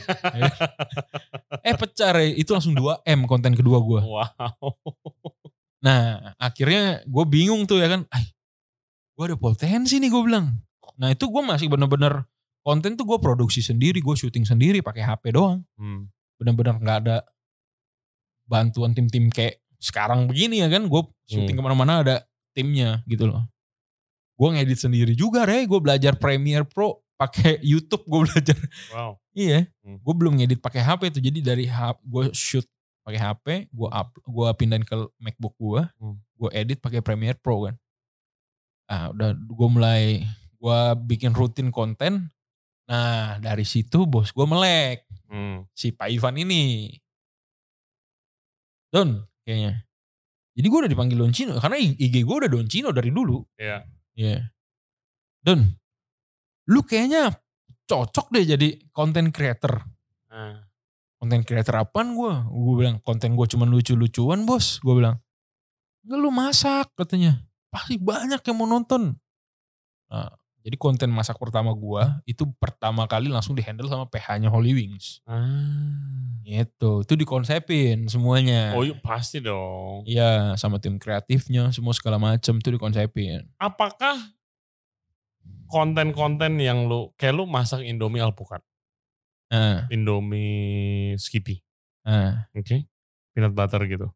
eh pecah Re, itu langsung dua M konten kedua gue. Wow. Nah akhirnya gue bingung tuh ya kan. Ay, gue ada potensi nih gue bilang. Nah itu gue masih bener-bener konten tuh gue produksi sendiri, gue syuting sendiri pakai H P doang. Hmm. Bener-bener nggak ada bantuan tim-tim kayak sekarang begini ya kan. Gue syuting hmm. kemana-mana ada timnya gitu loh. Gue ngedit sendiri juga, Re. Gue belajar Premiere Pro pakai YouTube, gue belajar. Wow. Iya, hmm. gue belum ngedit pakai H P tuh. Jadi dari H P gue shoot pakai H P, gue up, gue pindahin ke MacBook gue, hmm. gue edit pakai Premiere Pro kan. Ah udah gue mulai gue bikin rutin konten. Nah dari situ bos gue melek. Hmm. Si Pak Ivan ini. Don kayaknya. Jadi gue udah dipanggil Don Cino. Karena I G gue udah Don Cino dari dulu. Iya. Yeah. Iya. Yeah. Don. Lu kayaknya cocok deh jadi content creator. Hmm. Content creator apaan gue? Gue bilang konten gue cuma lucu-lucuan bos. Gue bilang. Enggak lu masak katanya. Pasti banyak yang mau nonton. Nah, jadi konten masak pertama gue itu pertama kali langsung dihandle sama P H-nya Holy Wings. Ah. Gitu, itu dikonsepin semuanya. Oh iya pasti dong. Iya, sama tim kreatifnya, semua segala macam itu dikonsepin. Apakah konten-konten yang lu, kayak lu masak Indomie alpukat? Ah. Indomie Skippy? Ah. Oke, okay. Peanut butter gitu.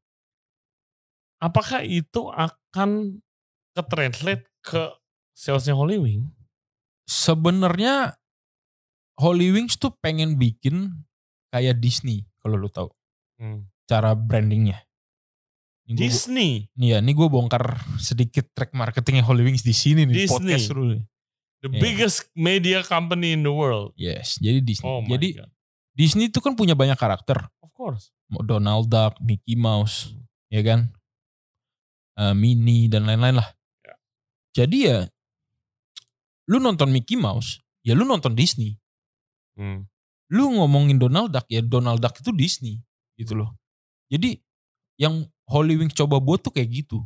Apakah itu akan ke-translate ke salesnya Holy Wings? Sebenarnya Holy Wings tuh pengen bikin kayak Disney kalau lu tahu. Hmm. Cara brandingnya. Ini Disney? Iya, ini gue bongkar sedikit track marketingnya Holy Wings di sini nih. Disney. Podcast dulu nih. The yeah. biggest media company in the world. Yes, jadi Disney. Oh jadi God. Disney itu kan punya banyak karakter. Of course. Donald Duck, Mickey Mouse, hmm. ya kan? Uh, Minnie dan lain-lain lah. Yeah. Jadi ya, lu nonton Mickey Mouse, ya lu nonton Disney. Hmm. Lu ngomongin Donald Duck, ya Donald Duck itu Disney gitu loh. Jadi yang Holy Wings coba buat tuh kayak gitu.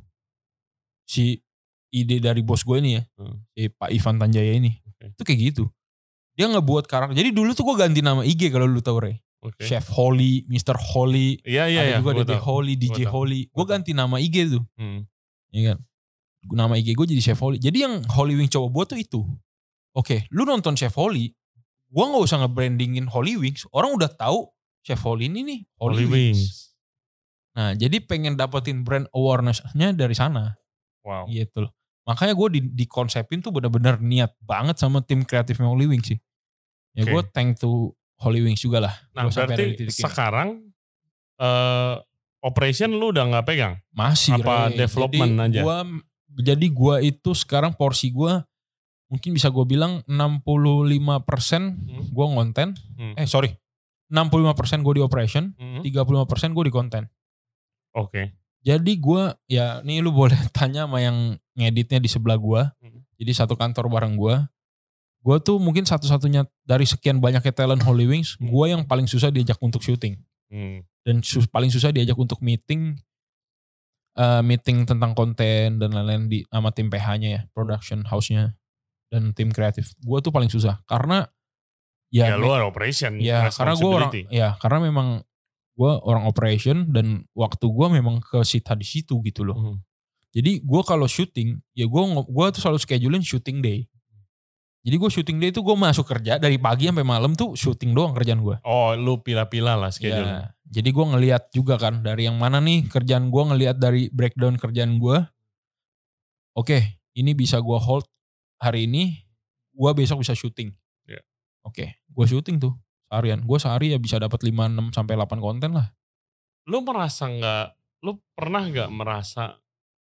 Si ide dari bos gue ini ya, hmm. si Pak Ivan Tanjaya ini, okay. itu kayak gitu. Dia ngebuat karakter. Jadi dulu tuh gue ganti nama I G kalau lu tau Ray. Okay. Chef Holy, mister Holy, iya, iya, ada iya, juga Dede Holy, D J Holy. Gue ganti nama I G tuh, hmm. ya kan. Nama I G gue jadi Chef Holy. Jadi yang Holy Wings coba buat tuh itu. Oke, okay, lu nonton Chef Holy, gue nggak usah nge-brandingin Holy Wings. Orang udah tahu Chef Holy ini nih Holy, Holy Wings. Wings. Nah, jadi pengen dapetin brand awareness-nya dari sana. Wow. Gitu loh. Makanya gue di, di konsepin tuh benar-benar niat banget sama tim kreatifnya Holy Wings sih. Ya okay. Gue thank to Holy Wings juga lah. Nah gua berarti sekarang uh, operation lu udah gak pegang? Masih. Apa Ray. Development jadi aja? Gua, jadi gue itu sekarang porsi gue mungkin bisa gue bilang enam puluh lima persen hmm. gue ngonten. Hmm. Eh sorry. enam puluh lima persen gue di operation. Hmm. tiga puluh lima persen gue di konten. Oke. Okay. Jadi gue ya nih lu boleh tanya sama yang ngeditnya di sebelah gue. Hmm. Jadi satu kantor bareng gue. Gue tuh mungkin satu-satunya dari sekian banyaknya talent Holy Wings, gue yang paling susah diajak untuk syuting. Hmm. Dan sus, paling susah diajak untuk meeting, uh, meeting tentang konten dan lain-lain di sama tim P H-nya ya, production house-nya dan tim kreatif. Gue tuh paling susah karena ya, ya lu orang operation, ya karena gue orang, ya karena memang gue orang operation dan waktu gue memang ke sita di situ gitu loh. Hmm. Jadi gue kalau syuting, ya gue gue tuh selalu schedulein shooting day. Jadi gue syuting day itu gue masuk kerja dari pagi sampai malam tuh syuting doang kerjaan gue. Oh lu pilah-pilah lah schedule. Ya, jadi gue ngelihat juga kan dari yang mana nih kerjaan gue, ngelihat dari breakdown kerjaan gue. Oke, ini bisa gue hold hari ini, gue besok bisa syuting. Yeah. Oke, gue syuting tuh seharian. Gue sehari ya bisa dapat lima, enam sampai delapan konten lah. Lu merasa gak, lu pernah gak merasa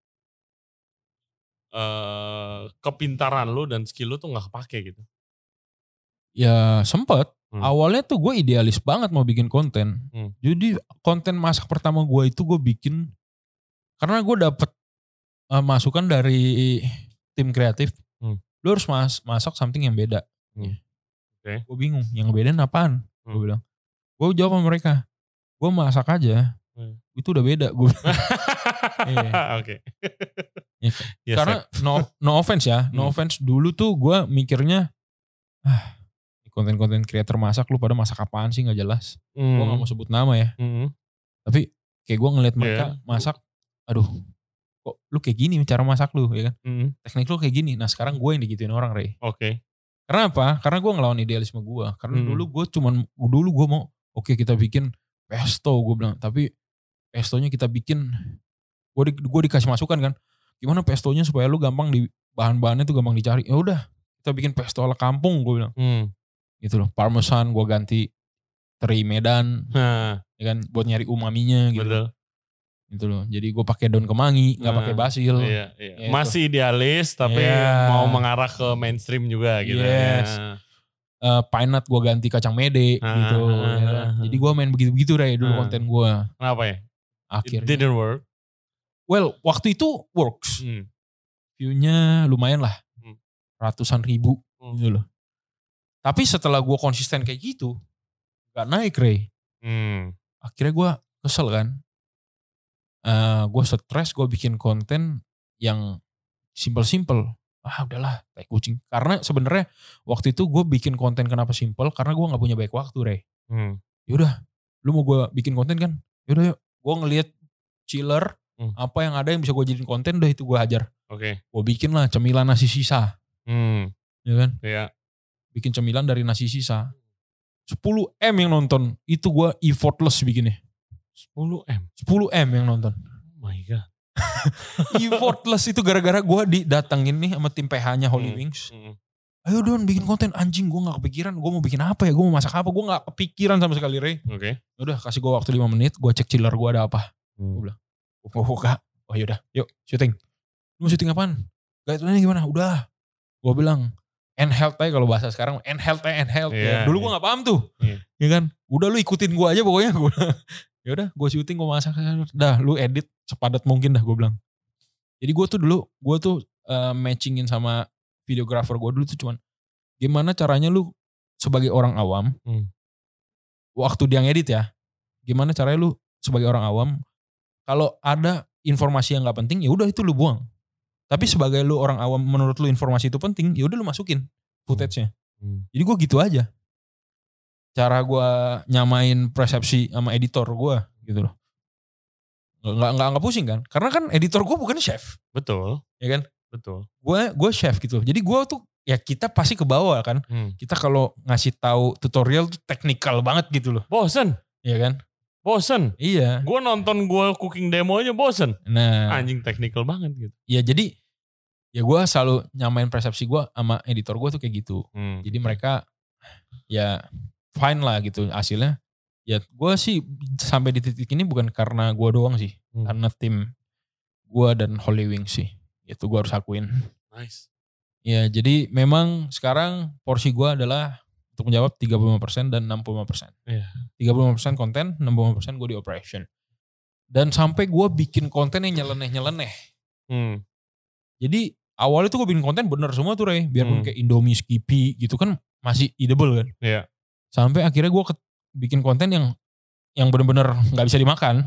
Uh, kepintaran lu dan skill lu tuh gak kepake gitu? Ya sempet. Hmm. Awalnya tuh gue idealis banget mau bikin konten. Hmm. Jadi konten masak pertama gue itu gue bikin karena gue dapet uh, masukan dari tim kreatif. Hmm. Lu harus mas masak something yang beda. Hmm. Okay. Gue bingung yang ngebedain apaan. Hmm. Gue bilang. Gue jawab sama mereka. Gue masak aja. Hmm. Itu udah beda. Gue Oke. Ya, yes, karena no no offense ya, no hmm. offense dulu tuh gue mikirnya ah konten-konten creator masak lu pada masak apaan sih nggak jelas. Hmm. Gue nggak mau sebut nama ya. Hmm. Tapi kayak gue ngeliat mereka yeah. masak, aduh, kok lu kayak gini cara masak lu ya kan. Hmm. Teknik lu kayak gini. Nah sekarang gue yang digituin orang Ray. Oke. Okay. Karena apa? Karena gue ngelawan idealisme gue. Karena Hmm. dulu gue cuman, dulu gue mau oke okay, kita bikin pesto gue bilang. Tapi pestonya kita bikin, gue di, gue dikasih masukan kan. Gimana pestonya supaya lu gampang di, bahan-bahannya tuh gampang dicari. Ya udah kita bikin pesto ala kampung gue bilang. Hmm. Gitu loh. Parmesan gue ganti teri Medan. Nah. Ya kan buat nyari umaminya gitu. Betul. Gitu loh. Jadi gue pakai daun kemangi, nggak nah, pakai basil. Iya, iya. Ya masih itu. Idealis tapi yeah. mau mengarah ke mainstream juga gitu. Yes. Ya. Uh, pine nut gue ganti kacang mede ah, gitu. Ah, ya. ah, Jadi gue main begitu-begitu Ray dulu ah. konten gue. Kenapa ya? Akhirnya. It didn't work. Well waktu itu works. Hmm. View-nya lumayan lah. Hmm. Ratusan ribu hmm. gitu loh. Tapi setelah gue konsisten kayak gitu. Gak naik Ray. Hmm. Akhirnya gue kesel kan. Uh, gue stres, gue bikin konten yang simple-simple. Ah udahlah, tai kucing. Karena sebenarnya waktu itu gue bikin konten kenapa simple? Karena gue nggak punya banyak waktu, Rey. Hmm. Yaudah, lu mau gue bikin konten kan? Yaudah yuk, gue ngeliat chiller, hmm. apa yang ada yang bisa gue jadiin konten, udah itu gue hajar. Oke. Okay. Gue bikin lah cemilan nasi sisa. Hmm. Ya kan? Iya. Yeah. Bikin cemilan dari nasi sisa. sepuluh M yang nonton, itu gue effortless bikinnya. sepuluh M? sepuluh M yang nonton. Oh my God. Effortless itu gara-gara gue didatengin nih sama tim P H-nya Holy hmm. Wings. Hmm. Ayo Don bikin konten, anjing gue gak kepikiran. Gue mau bikin apa ya, gue mau masak apa. Gue gak kepikiran sama sekali Ray. Oke. Okay. Udah kasih gue waktu lima menit, gue cek chiller gue ada apa. Hmm. Gue bilang, gue buka. Oh yaudah, yuk syuting. Lu mau syuting apaan? Guideline gimana? Udah. Gue bilang, handheld aja kalau bahasa sekarang. Handheld aja, handheld. Yeah, ya. Dulu yeah. gue gak paham tuh. Yeah. Ya kan? Udah lu ikutin gue aja pokoknya. Ya udah, gue syuting, gue masak. Dah, lu edit sepadat mungkin dah gue bilang. Jadi gue tuh dulu, gue tuh uh, matchingin sama videographer gue dulu tuh cuman, gimana caranya lu sebagai orang awam, hmm. waktu dia ngedit ya, gimana caranya lu sebagai orang awam, kalau ada informasi yang gak penting, ya udah itu lu buang. Tapi sebagai lu orang awam, menurut lu informasi itu penting, ya udah lu masukin footage-nya. Hmm. Jadi gue gitu aja. Cara gue nyamain persepsi sama editor gue gitu loh. Nggak, nggak, nggak pusing kan. Karena kan editor gue bukan chef. Betul. Ya kan? Betul. Gue gue chef gitu. Jadi gue tuh ya kita pasti ke bawah kan. Hmm. Kita kalau ngasih tahu tutorial tuh teknikal banget gitu loh. Bosen. Iya kan? Bosen. Iya. Gue nonton gue cooking demonya bosen. Nah. Anjing teknikal banget gitu. Iya jadi ya gue selalu nyamain persepsi gue sama editor gue tuh kayak gitu. Hmm. Jadi mereka ya fine lah gitu hasilnya. Ya gue sih sampai di titik ini bukan karena gue doang sih. Hmm. Karena tim gue dan Holy Wings sih. Itu gue harus akuin. Nice. Ya jadi memang sekarang porsi gue adalah untuk menjawab tiga puluh lima persen dan enam puluh lima persen. Yeah. tiga puluh lima persen konten, enam puluh lima persen gue di operation. Dan sampai gue bikin konten yang nyeleneh-nyeleneh. Hmm. Jadi awalnya tuh gue bikin konten bener semua tuh Ray. Biarpun hmm. kayak Indomie, Skippy gitu kan masih edible kan. Iya. Yeah. Sampai akhirnya gue bikin konten yang yang bener-bener gak bisa dimakan.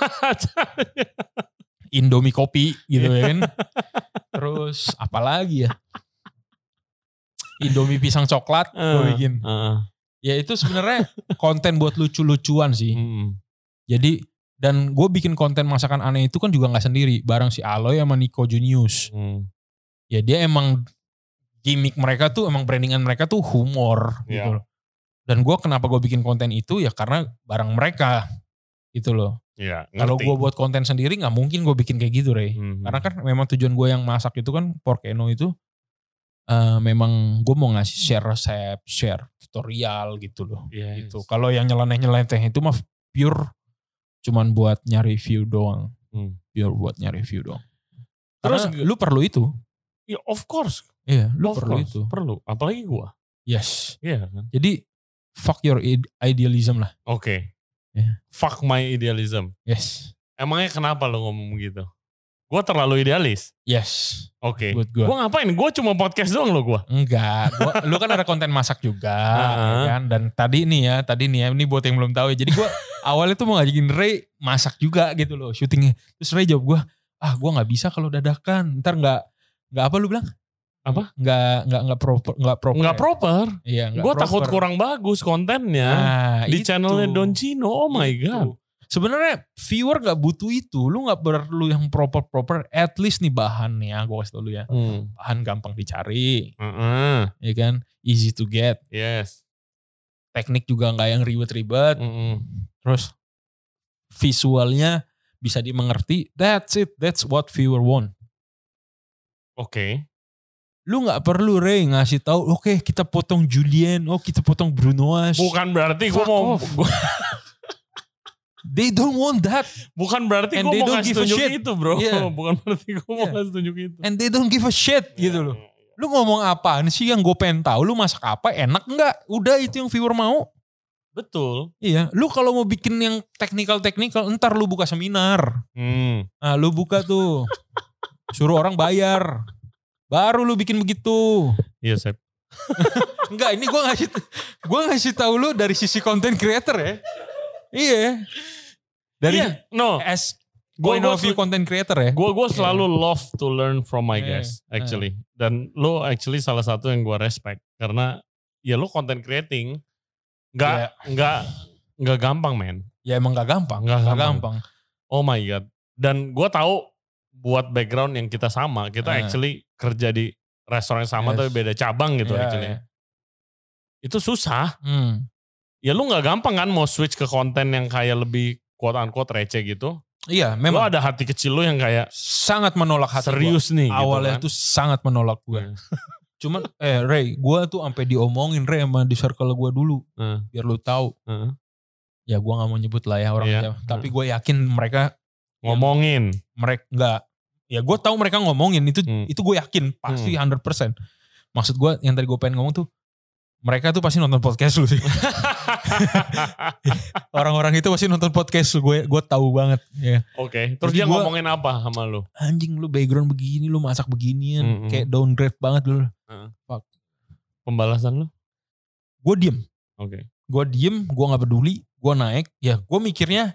Indomie kopi gitu ya kan. Terus apalagi ya. Indomie pisang coklat uh, gue bikin. Uh. Ya itu sebenarnya konten buat lucu-lucuan sih. Hmm. Jadi dan gue bikin konten masakan aneh itu kan juga gak sendiri. Bareng si Aloy sama Nico Junius. Hmm. Ya dia emang gimmick mereka tuh, emang brandingan mereka tuh humor yeah. gitu loh. Dan gue kenapa gue bikin konten itu ya karena bareng mereka gitu loh. Ya, kalau gue buat konten sendiri gak mungkin gue bikin kayak gitu Ray. Mm-hmm. Karena kan memang tujuan gue yang masak itu kan Porkeno itu uh, memang gue mau ngasih share resep, share tutorial gitu loh. Yes. Gitu. Kalau yang nyeleneh-nyeleneh itu mah pure cuman buat nyari view doang. Mm. Pure buat nyari view doang. Terus karena lu perlu itu. Ya of course. Iya lu of perlu course. itu. Perlu. Apalagi gue. Yes. Iya kan. Jadi fuck your idealism lah. Oke. Okay. Yeah. Fuck my idealism. Yes. Emangnya kenapa lo ngomong gitu? Gue terlalu idealis? Yes. Oke. Okay. Gue ngapain? Gue cuma podcast doang lo gue. Enggak. Gua, lu kan ada konten masak juga. Uh-huh. Ya kan? Dan tadi nih ya. Tadi nih ya. Ini buat yang belum tahu ya. Jadi gue awalnya tuh mau ngajakin Ray masak juga gitu loh. Syutingnya. Terus Ray jawab gue. Ah gue gak bisa kalau dadakan. Ntar gak. Gak apa lu bilang? Apa? Nggak nggak nggak proper nggak proper. Nggak ya? proper. Iya. Gue takut kurang bagus kontennya nah, di itu. Channelnya Don Chino. Oh my itu. God. Sebenarnya viewer gak butuh itu. Lu gak perlu yang proper-proper. At least nih bahan nih ya. Gue kasih tau lu ya. Hmm. Bahan gampang dicari. Uh-uh. Ya kan. Easy to get. Yes. Teknik juga gak yang ribet-ribet. Uh-uh. Terus visualnya bisa dimengerti. That's it. That's what viewer want. Oke. Okay. Lu gak perlu Ray ngasih tahu. Oke okay, kita potong Julien. Oh kita potong Brunoas. Bukan berarti gue mau. Gua, they don't want that. Bukan berarti gue mau ngasih tunjuk itu bro. Yeah. Bukan berarti gue mau yeah. ngasih tunjuk itu. And they don't give a shit yeah. gitu loh. Lu ngomong apaan sih yang gue pengen tahu. Lu masak apa enak gak? Udah itu yang viewer mau. Betul. Iya. Lu kalau mau bikin yang teknikal-teknikal. Ntar lu buka seminar. Hmm. Nah lu buka tuh. Suruh orang bayar. Baru lu bikin begitu. Iya, Sep. Enggak, ini gue ngasih gue ngasih tahu lu dari sisi content creator ya. Iya. Dari iya, no. as point of view content creator ya. Gue gue selalu yeah. love to learn from my guests yeah. actually. Yeah. Dan lu actually salah satu yang gue respect karena ya lu content creating enggak yeah. enggak enggak gampang, men. Ya emang enggak gampang. Enggak gampang. gampang. Oh my god. Dan gue tahu buat background yang kita sama, kita uh. actually kerja di restoran yang sama yes. tapi beda cabang gitu yeah, actually. Yeah. Itu susah. Hmm. Ya lu gak gampang kan mau switch ke konten yang kayak lebih quote unquote receh gitu. Iya memang. Lu ada hati kecil lu yang kayak sangat menolak hati serius gua. nih. Awalnya gitu kan. tuh sangat menolak gue. Hmm. Cuman eh Ray, gue tuh sampai diomongin Ray sama di circle gue dulu. Hmm. Biar lu tahu. Hmm. Ya gue gak mau nyebut lah ya orangnya. Hmm. Tapi gue yakin mereka ngomongin. Mereka enggak. Ya gue tahu mereka ngomongin itu hmm. itu gue yakin pasti hmm. seratus persen. Maksud gue yang tadi gue pengen ngomong tuh mereka tuh pasti nonton podcast lu sih. Orang-orang itu pasti nonton podcast lu, gue gue tahu banget ya. Oke, okay. Terus dia gua, ngomongin apa sama lu? Anjing lu background begini, lu masak beginian, hmm. kayak downgrade banget lu. Hmm. Fuck. Pembalasan lu? Gue diem. Oke. Okay. Gue diem, gue nggak peduli, gue naik, ya gue mikirnya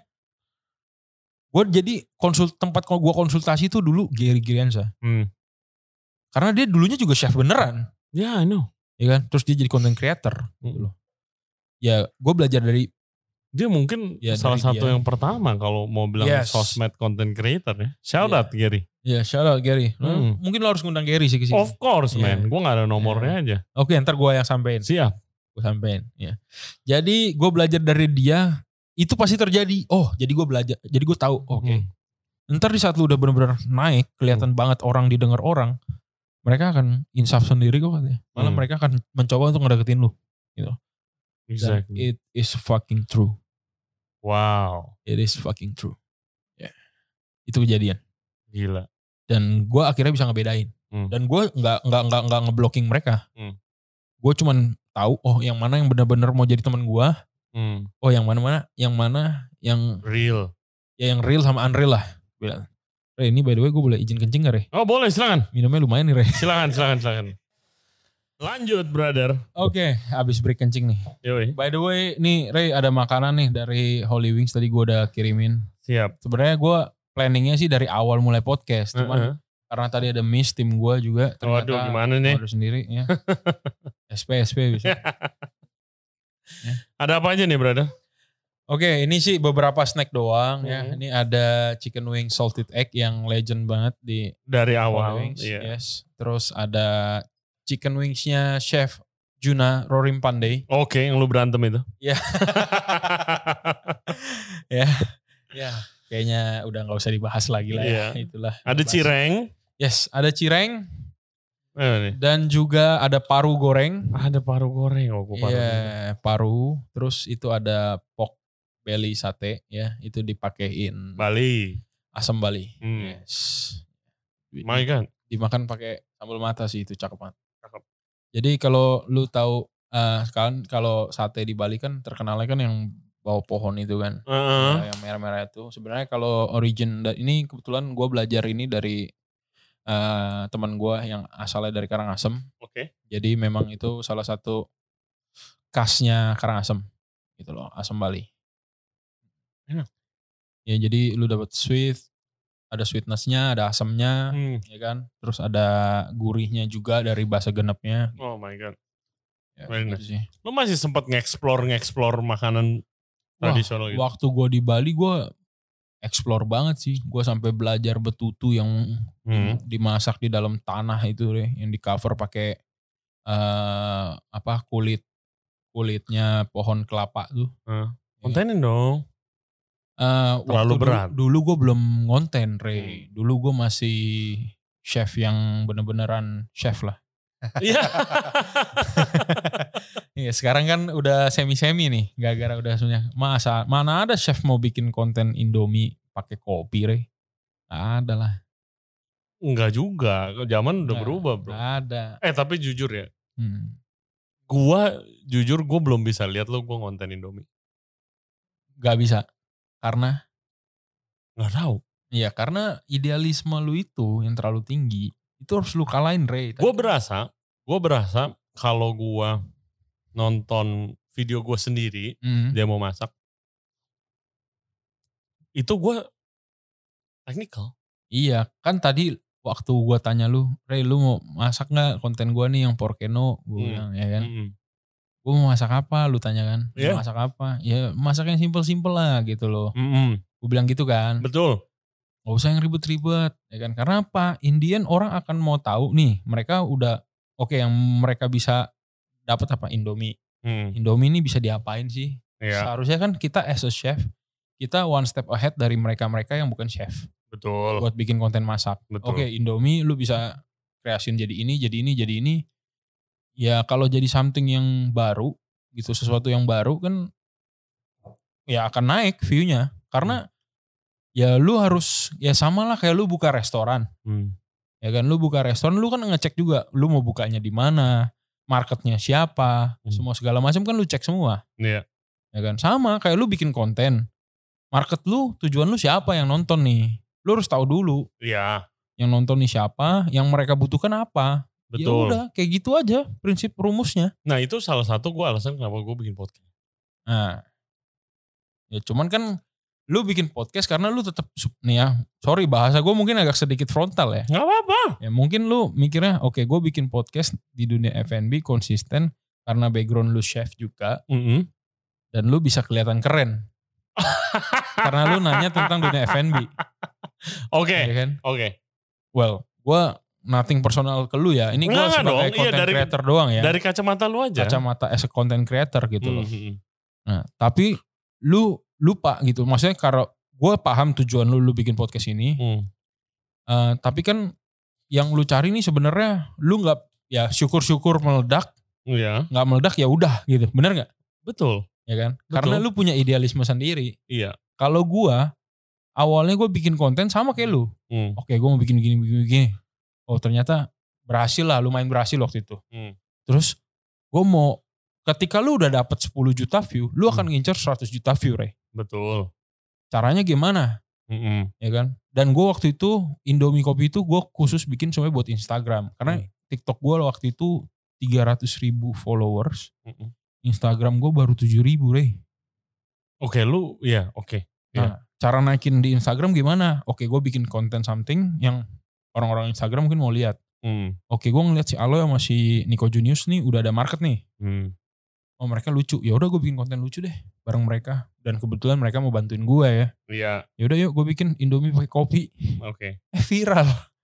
gue jadi konsul tempat kalau gue konsultasi itu dulu Gary Giriansa. Hmm. Karena dia dulunya juga chef beneran. Ya, yeah, I know. Ya kan? Terus dia jadi content creator. Hmm. Gitu loh. Ya, gue belajar dari dia mungkin ya, salah satu dia. Yang pertama kalau mau bilang yes. sosmed content creator ya. Shout yeah. out Gary. Ya, yeah, shout out Gary. Hmm. Mungkin lo harus ngundang Gary sih ke sini. Of course, yeah. man. Gue gak ada nomornya yeah. aja. Oke, okay, ntar gue yang sampein. Siap. Gue sampein. Ya. Jadi gue belajar dari dia. Itu pasti terjadi. Oh, jadi gue belajar. Jadi gue tahu. Oke. Okay. Hmm. Ntar di saat lu udah benar-benar naik, kelihatan hmm. banget orang didengar orang, mereka akan insaf sendiri kok katanya. Malah hmm. mereka akan mencoba untuk ngedeketin lu. Gitu. Exactly. Dan it is fucking true. Wow. It is fucking true. Ya. Yeah. Itu kejadian. Gila. Dan gue akhirnya bisa ngebedain. Hmm. Dan gue nggak nggak nggak nggak ngeblocking mereka. Hmm. Gue cuman tahu oh yang mana yang benar-benar mau jadi teman gue. Hmm. Oh yang mana-mana, yang mana yang real. Ya yang real sama unreal lah. Bilang. Ray ini by the way gue boleh izin kencing gak Ray? Oh boleh silakan. Minumnya lumayan nih Ray. Silakan silakan silakan. Lanjut brother. Oke okay, abis break kencing nih. Yoi. By the way nih Ray ada makanan nih dari Holy Wings tadi gue udah kirimin. Siap. Sebenarnya gue planningnya sih dari awal mulai podcast. Cuman uh-huh. karena tadi ada miss tim gue juga. Ternyata waduh gimana nih? Waduh sendiri ya. S P S P bisa. Ya. Ada apa aja nih brother? Oke ini sih beberapa snack doang mm-hmm. ya. Ini ada chicken wing salted egg yang legend banget di dari awal. Wings, yeah. Yes. Terus ada chicken wingsnya chef Juna Rorim Pandey. Oke yang lu berantem itu. Ya. Ya. Ya. Kayaknya udah gak usah dibahas lagi lah yeah. ya. Itulah. Ada cireng. Yes ada cireng. Eh, dan juga ada paru goreng. Ada paru goreng. Oh, paru. Iya, paru. Terus itu ada pork belly sate ya, itu dipakein Bali. Asam Bali. Hmm. Yes. My God. Dimakan pakai sambal mata sih itu cakep banget. Cakep. Jadi kalau lu tahu uh, kan kalau sate di Bali kan terkenalnya kan yang bawah pohon itu kan. Uh-huh. Ya, yang merah-merah itu. Sebenarnya kalau origin ini kebetulan gue belajar ini dari Uh, teman gue yang asalnya dari Karangasem. Oke. Okay. Jadi memang itu salah satu khasnya Karangasem gitu loh, asam Bali. Enak. Ya jadi lu dapat sweet, ada sweetnessnya, ada asamnya, hmm. ya kan. Terus ada gurihnya juga dari bahasa genepnya. Oh my god. Ya, gitu sih. Lu masih sempat nge-explore nge-explore makanan tradisional gitu. Waktu gue di Bali gue explore banget sih. Gue sampai belajar betutu yang Hmm. dimasak di dalam tanah itu deh, yang di cover pakai uh, apa kulit kulitnya pohon kelapa tuh. Uh, kontenin dong. Uh, Terlalu waktu berat. Dulu, dulu gue belum ngonten, Ray. Hmm. Dulu gue masih chef yang bener-beneran chef lah. Iya. Iya, sekarang kan udah semi-semi nih, gara-gara udah semuanya. Masa mana ada chef mau bikin konten Indomie pakai kopi, Re? Nggak ada lah. Enggak juga, zaman udah Nggak, berubah, bro. Nggak ada. Eh tapi jujur ya, Hmm. gua jujur gua belum bisa lihat lo gua ngonten Indomie. Gak bisa, karena nggak tahu. Iya, karena idealisme lu itu yang terlalu tinggi, itu harus lu kalahin, Re. Gue berasa, gue berasa kalau gue nonton video gue sendiri, Hmm. dia mau masak, itu gue teknikal. Iya, kan tadi waktu gue tanya lu, Re, lu mau masak nggak konten gue nih yang Porkeno, gue Hmm. bilang, ya kan? Mm-mm. Gue mau masak apa, lu tanya kan? Mau Yeah. masak apa? Ya masak yang simpel-simpel lah gitu loh. Mm-mm. Gue bilang gitu kan. Betul. Gak usah yang ribet-ribet, ya kan? Karena apa? Indian orang akan mau tahu nih, mereka udah oke okay, yang mereka bisa dapat apa? Indomie. Hmm. Indomie ini bisa diapain sih? Yeah. Seharusnya kan kita as a chef, kita one step ahead dari mereka-mereka yang bukan chef. Betul. Buat bikin konten masak. Betul. Oke, okay, Indomie lu bisa kreasin jadi ini, jadi ini, jadi ini. Ya kalau jadi something yang baru, gitu, sesuatu yang baru kan ya akan naik view-nya. Karena hmm. ya lu harus, ya sama lah kayak lu buka restoran. Hmm. Ya kan, lu buka restoran, lu kan ngecek juga, lu mau bukanya di mana, marketnya siapa, hmm. semua segala macam kan lu cek semua. Iya. Ya kan, sama kayak lu bikin konten, market lu, tujuan lu siapa yang nonton nih, lu harus tahu dulu. Iya. Yang nonton nih siapa, yang mereka butuhkan apa. Betul. Ya udah, kayak gitu aja prinsip rumusnya. Nah itu salah satu gue alasan kenapa gue bikin podcast. Nah, ya cuman kan lu bikin podcast karena lu tetap nih ya, sorry bahasa gue mungkin agak sedikit frontal ya. Gak apa-apa. Ya mungkin lu mikirnya oke okay, gue bikin podcast di dunia F and B konsisten karena background lu chef juga. Mm-hmm. Dan lu bisa kelihatan keren. Karena lu nanya tentang dunia F and B. Oke. Ya kan? Oke. Okay. Well, gue nothing personal ke lu ya. Ini gue sebagai content iya, dari, creator doang ya. Dari kacamata lu aja. Kacamata as a content creator gitu loh. Mm-hmm. Nah, tapi lu lupa gitu. Maksudnya kalau gue paham tujuan lu lu bikin podcast ini. Mm. Uh, tapi kan yang lu cari nih sebenarnya lu nggak ya syukur-syukur meledak. Iya. Nggak meledak ya udah gitu. Bener nggak? Betul. Ya kan? Betul. Karena lu punya idealisme sendiri. Iya. Kalau gue awalnya gue bikin konten sama kayak lu. Mm. Oke, gue mau bikin begini begini begini. Oh ternyata berhasil lah, lumayan berhasil waktu itu. Mm. Terus gue mau, ketika lu udah dapet sepuluh juta view, lu akan mm. ngincer seratus juta view, Re. Betul. Caranya gimana? Mm-mm. Ya kan? Dan gue waktu itu, Indomie Kopi itu gue khusus bikin semuanya buat Instagram. Karena mm. TikTok gue waktu itu tiga ratus ribu followers. Mm-mm. Instagram gue baru tujuh ribu, Re. Oke, lu, ya oke. Okay. Nah, yeah. Cara naikin di Instagram gimana? Oke, gue bikin konten something yang orang-orang Instagram mungkin mau lihat. Hmm. Oke, gue ngeliat si Alo sama si Nico Junius nih udah ada market nih. Hmm. Oh mereka lucu. Ya udah gue bikin konten lucu deh bareng mereka. Dan kebetulan mereka mau bantuin gue ya. Iya. Ya udah yuk gue bikin Indomie pakai kopi. Oke. Okay. Eh viral.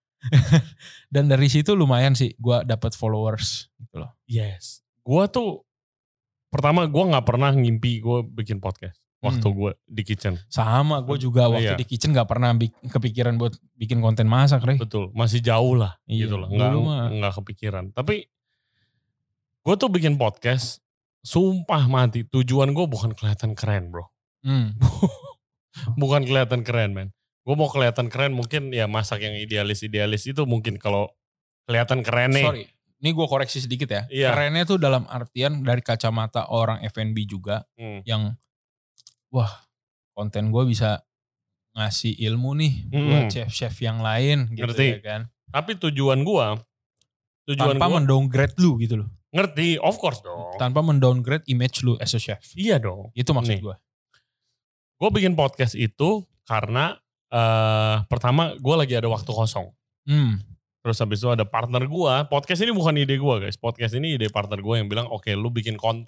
Dan dari situ lumayan sih gue dapat followers gitu loh. Yes. Gue tuh pertama gue nggak pernah ngimpi gue bikin podcast. Waktu hmm. gue di kitchen. Sama, gue juga waktu iya. di kitchen gak pernah kepikiran buat bikin konten masak, Re. Betul, masih jauh lah iya, gitu loh. Gak, gak kepikiran. Tapi gue tuh bikin podcast, sumpah mati. Tujuan gue bukan kelihatan keren, bro. Hmm. Bukan kelihatan keren, men. Gue mau kelihatan keren mungkin ya masak yang idealis-idealis itu mungkin kalau kelihatan keren nih. Sorry, ini gue koreksi sedikit ya. Iya. Kerennya tuh dalam artian dari kacamata orang F and B juga hmm. yang wah, konten gue bisa ngasih ilmu nih hmm. buat chef-chef yang lain gitu. Ngerti. Ya kan. Tapi tujuan gue, tujuan tanpa gua, mendowngrade lu gitu loh. Ngerti, of course dong. Tanpa mendowngrade image lu as a chef. Iya dong. Itu maksud gue. Gue bikin podcast itu karena uh, pertama gue lagi ada waktu kosong. Hmm. Terus habis itu ada partner gue. Podcast ini bukan ide gue guys. Podcast ini ide partner gue yang bilang oke okay, lu bikin konten.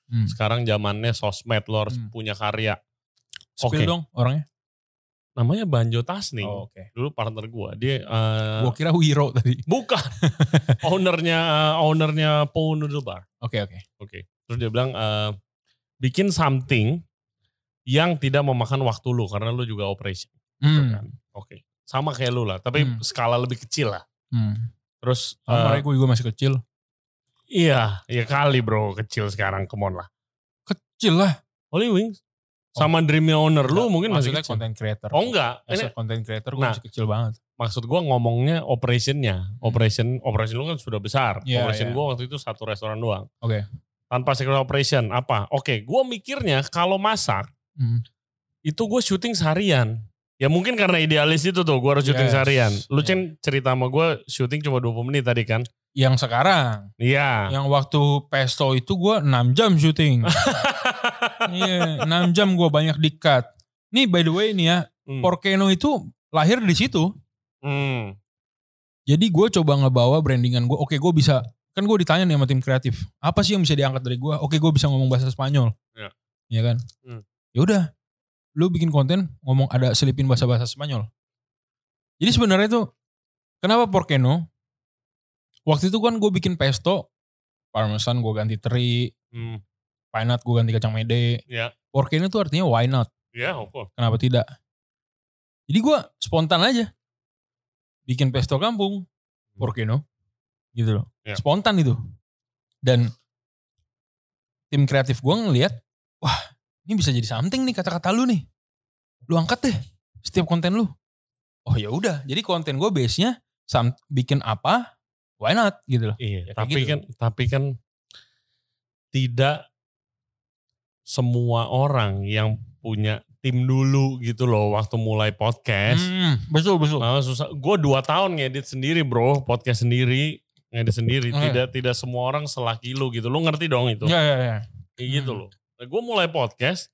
Hmm. Sekarang zamannya sosmed, lo harus Hmm. punya karya. Spill Oke. dong orangnya. Namanya Banjo Tasning. Oh, oke. Dulu partner gue. Dia uh, Gua kira Wiro tadi. bukan. ownernya uh, ownernya Po Noodle Bar. Oke, oke. Oke. Terus dia bilang uh, bikin something yang tidak memakan waktu lu karena lu juga operation. Gitu Hmm. kan. Oke. Sama kayak lu lah, tapi Hmm. skala lebih kecil lah. Hmm. Terus Sama uh, gue juga masih kecil. iya, iya kali bro, kecil sekarang, come on lah. Kecil lah. Holy Wings sama Dreamnya Owner lu mungkin masih maksudnya kecil. content creator. Oh enggak, As ini a content creator gue Nah. masih kecil banget. maksud gua ngomongnya operationnya. Operation operation lu kan sudah besar. Iya, operation iya. gua waktu itu satu restoran doang. Oke. Tanpa secret operation apa? Oke, gua mikirnya kalau masak Hmm. itu gue syuting seharian. Ya mungkin karena idealis itu tuh, gue harus syuting Yes. seharian. Lu Yeah. Cen cerita sama gue syuting cuma dua puluh menit tadi kan? Yang sekarang. Iya. Yang waktu Pesto itu gue enam jam syuting. Iya, enam jam gue banyak di-cut. Nih by the way nih ya, Hmm. Porkeno itu lahir di situ. Hmm. Jadi gue coba ngebawa brandingan gue. Oke, gue bisa, kan gue ditanya nih sama tim kreatif, apa sih yang bisa diangkat dari gue? Oke, gue bisa ngomong bahasa Spanyol. Iya. Iya kan? Hmm. Ya udah, lu bikin konten ngomong ada selipin bahasa-bahasa Spanyol. Jadi sebenarnya tuh kenapa Porkeno? Waktu itu kan gue bikin pesto, parmesan gue ganti teri, Hmm. why not gue ganti kacang mede. Ya. Porkeno tuh artinya why not? Ya, oke. Kenapa tidak? Jadi gue spontan aja bikin pesto kampung, Porkeno, gitu loh. Ya. Spontan itu. Dan tim kreatif gue ngeliat, wah ini bisa jadi something nih kata-kata lu nih. Lu angkat deh setiap konten lu. Oh ya udah, jadi konten gue base-nya some- bikin apa, why not gitu loh. Iya, Ya, kayak tapi gitu. kan tapi kan tidak semua orang yang punya tim dulu gitu loh waktu mulai podcast. Hmm, betul betul. Nah, susah. Gue dua tahun ngedit sendiri bro, podcast sendiri, ngedit sendiri. Oh, iya. Tidak tidak semua orang selaki lu gitu. Lu ngerti dong itu? Ya ya ya. Kayak gitu Hmm. loh. Nah, gue mulai podcast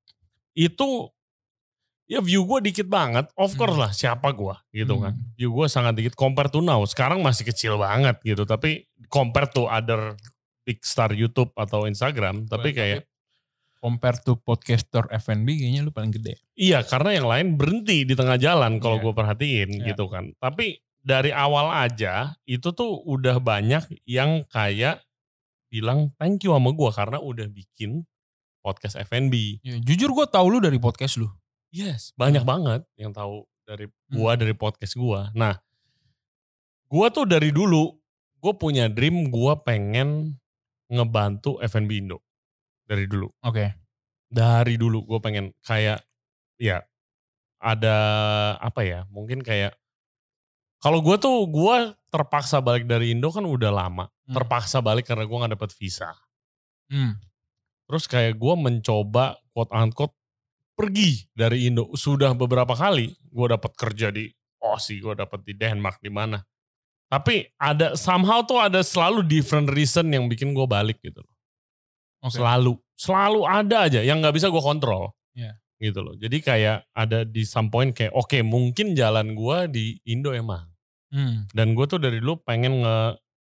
itu ya view gue dikit banget. Of course Hmm. lah, siapa gue gitu Hmm. kan. View gue sangat dikit compare to now. Sekarang masih kecil banget gitu. Tapi compare to other big star YouTube atau Instagram. Tapi kayak compare to podcaster F and B kayaknya lu paling gede. iya, karena yang lain berhenti di tengah jalan kalau Iya. gue perhatiin Iya. gitu kan. Tapi dari awal aja itu tuh udah banyak yang kayak bilang thank you sama gue karena udah bikin podcast F and B. Ya, jujur gue tahu lu dari podcast lu. Yes, banyak Hmm. banget yang tahu dari gue dari podcast gue. Nah, gue tuh dari dulu gue punya dream gue pengen ngebantu F and B Indo dari dulu. Oke. Dari dulu gue pengen kayak ya ada apa ya mungkin kayak kalau gue tuh gue terpaksa balik dari Indo kan udah lama. Hmm. Terpaksa balik karena gue gak dapet visa. Hmm. Terus kayak gue mencoba quote unquote pergi dari Indo. Sudah beberapa kali gue dapet kerja di Aussie, gue dapet di Denmark di mana. Tapi ada somehow tuh ada selalu different reason yang bikin gue balik gitu loh. Oke. Selalu, selalu ada aja yang nggak bisa gue kontrol. Iya. Gitu loh. Jadi kayak ada di some point kayak oke okay, mungkin jalan gue di Indo emang. Hmm. Dan gue tuh dari dulu pengen nge,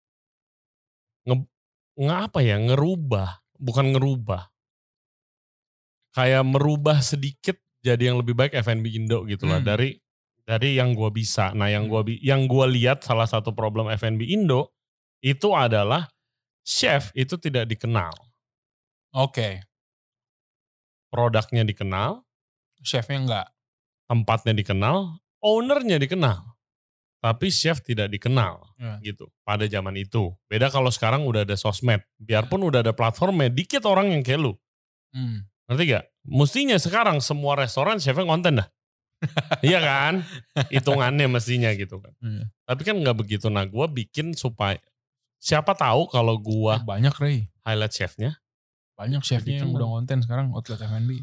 nge, nge apa ya, ngerubah. Bukan ngerubah. Kayak merubah sedikit jadi yang lebih baik F and B Indo gitu loh. Hmm. Dari dari yang gue bisa. Nah yang Hmm. gue yang gue lihat salah satu problem F and B Indo itu adalah chef itu tidak dikenal. Oke. Produknya dikenal, Chefnya enggak. tempatnya dikenal, ownernya dikenal. Tapi chef tidak dikenal Ya. gitu pada zaman itu. Beda kalau sekarang udah ada sosmed. Biarpun udah ada platformnya, dikit orang yang kayak lu. Hmm. Ngerti gak? Mestinya sekarang semua restoran chefnya konten dah. Iya kan? Hitungannya mestinya gitu kan. Hmm. Tapi kan gak begitu. Nah gue bikin supaya, siapa tahu kalau gue Banyak Ray. highlight chefnya. Banyak chefnya yang Dikenal. udah konten sekarang outlet F and B.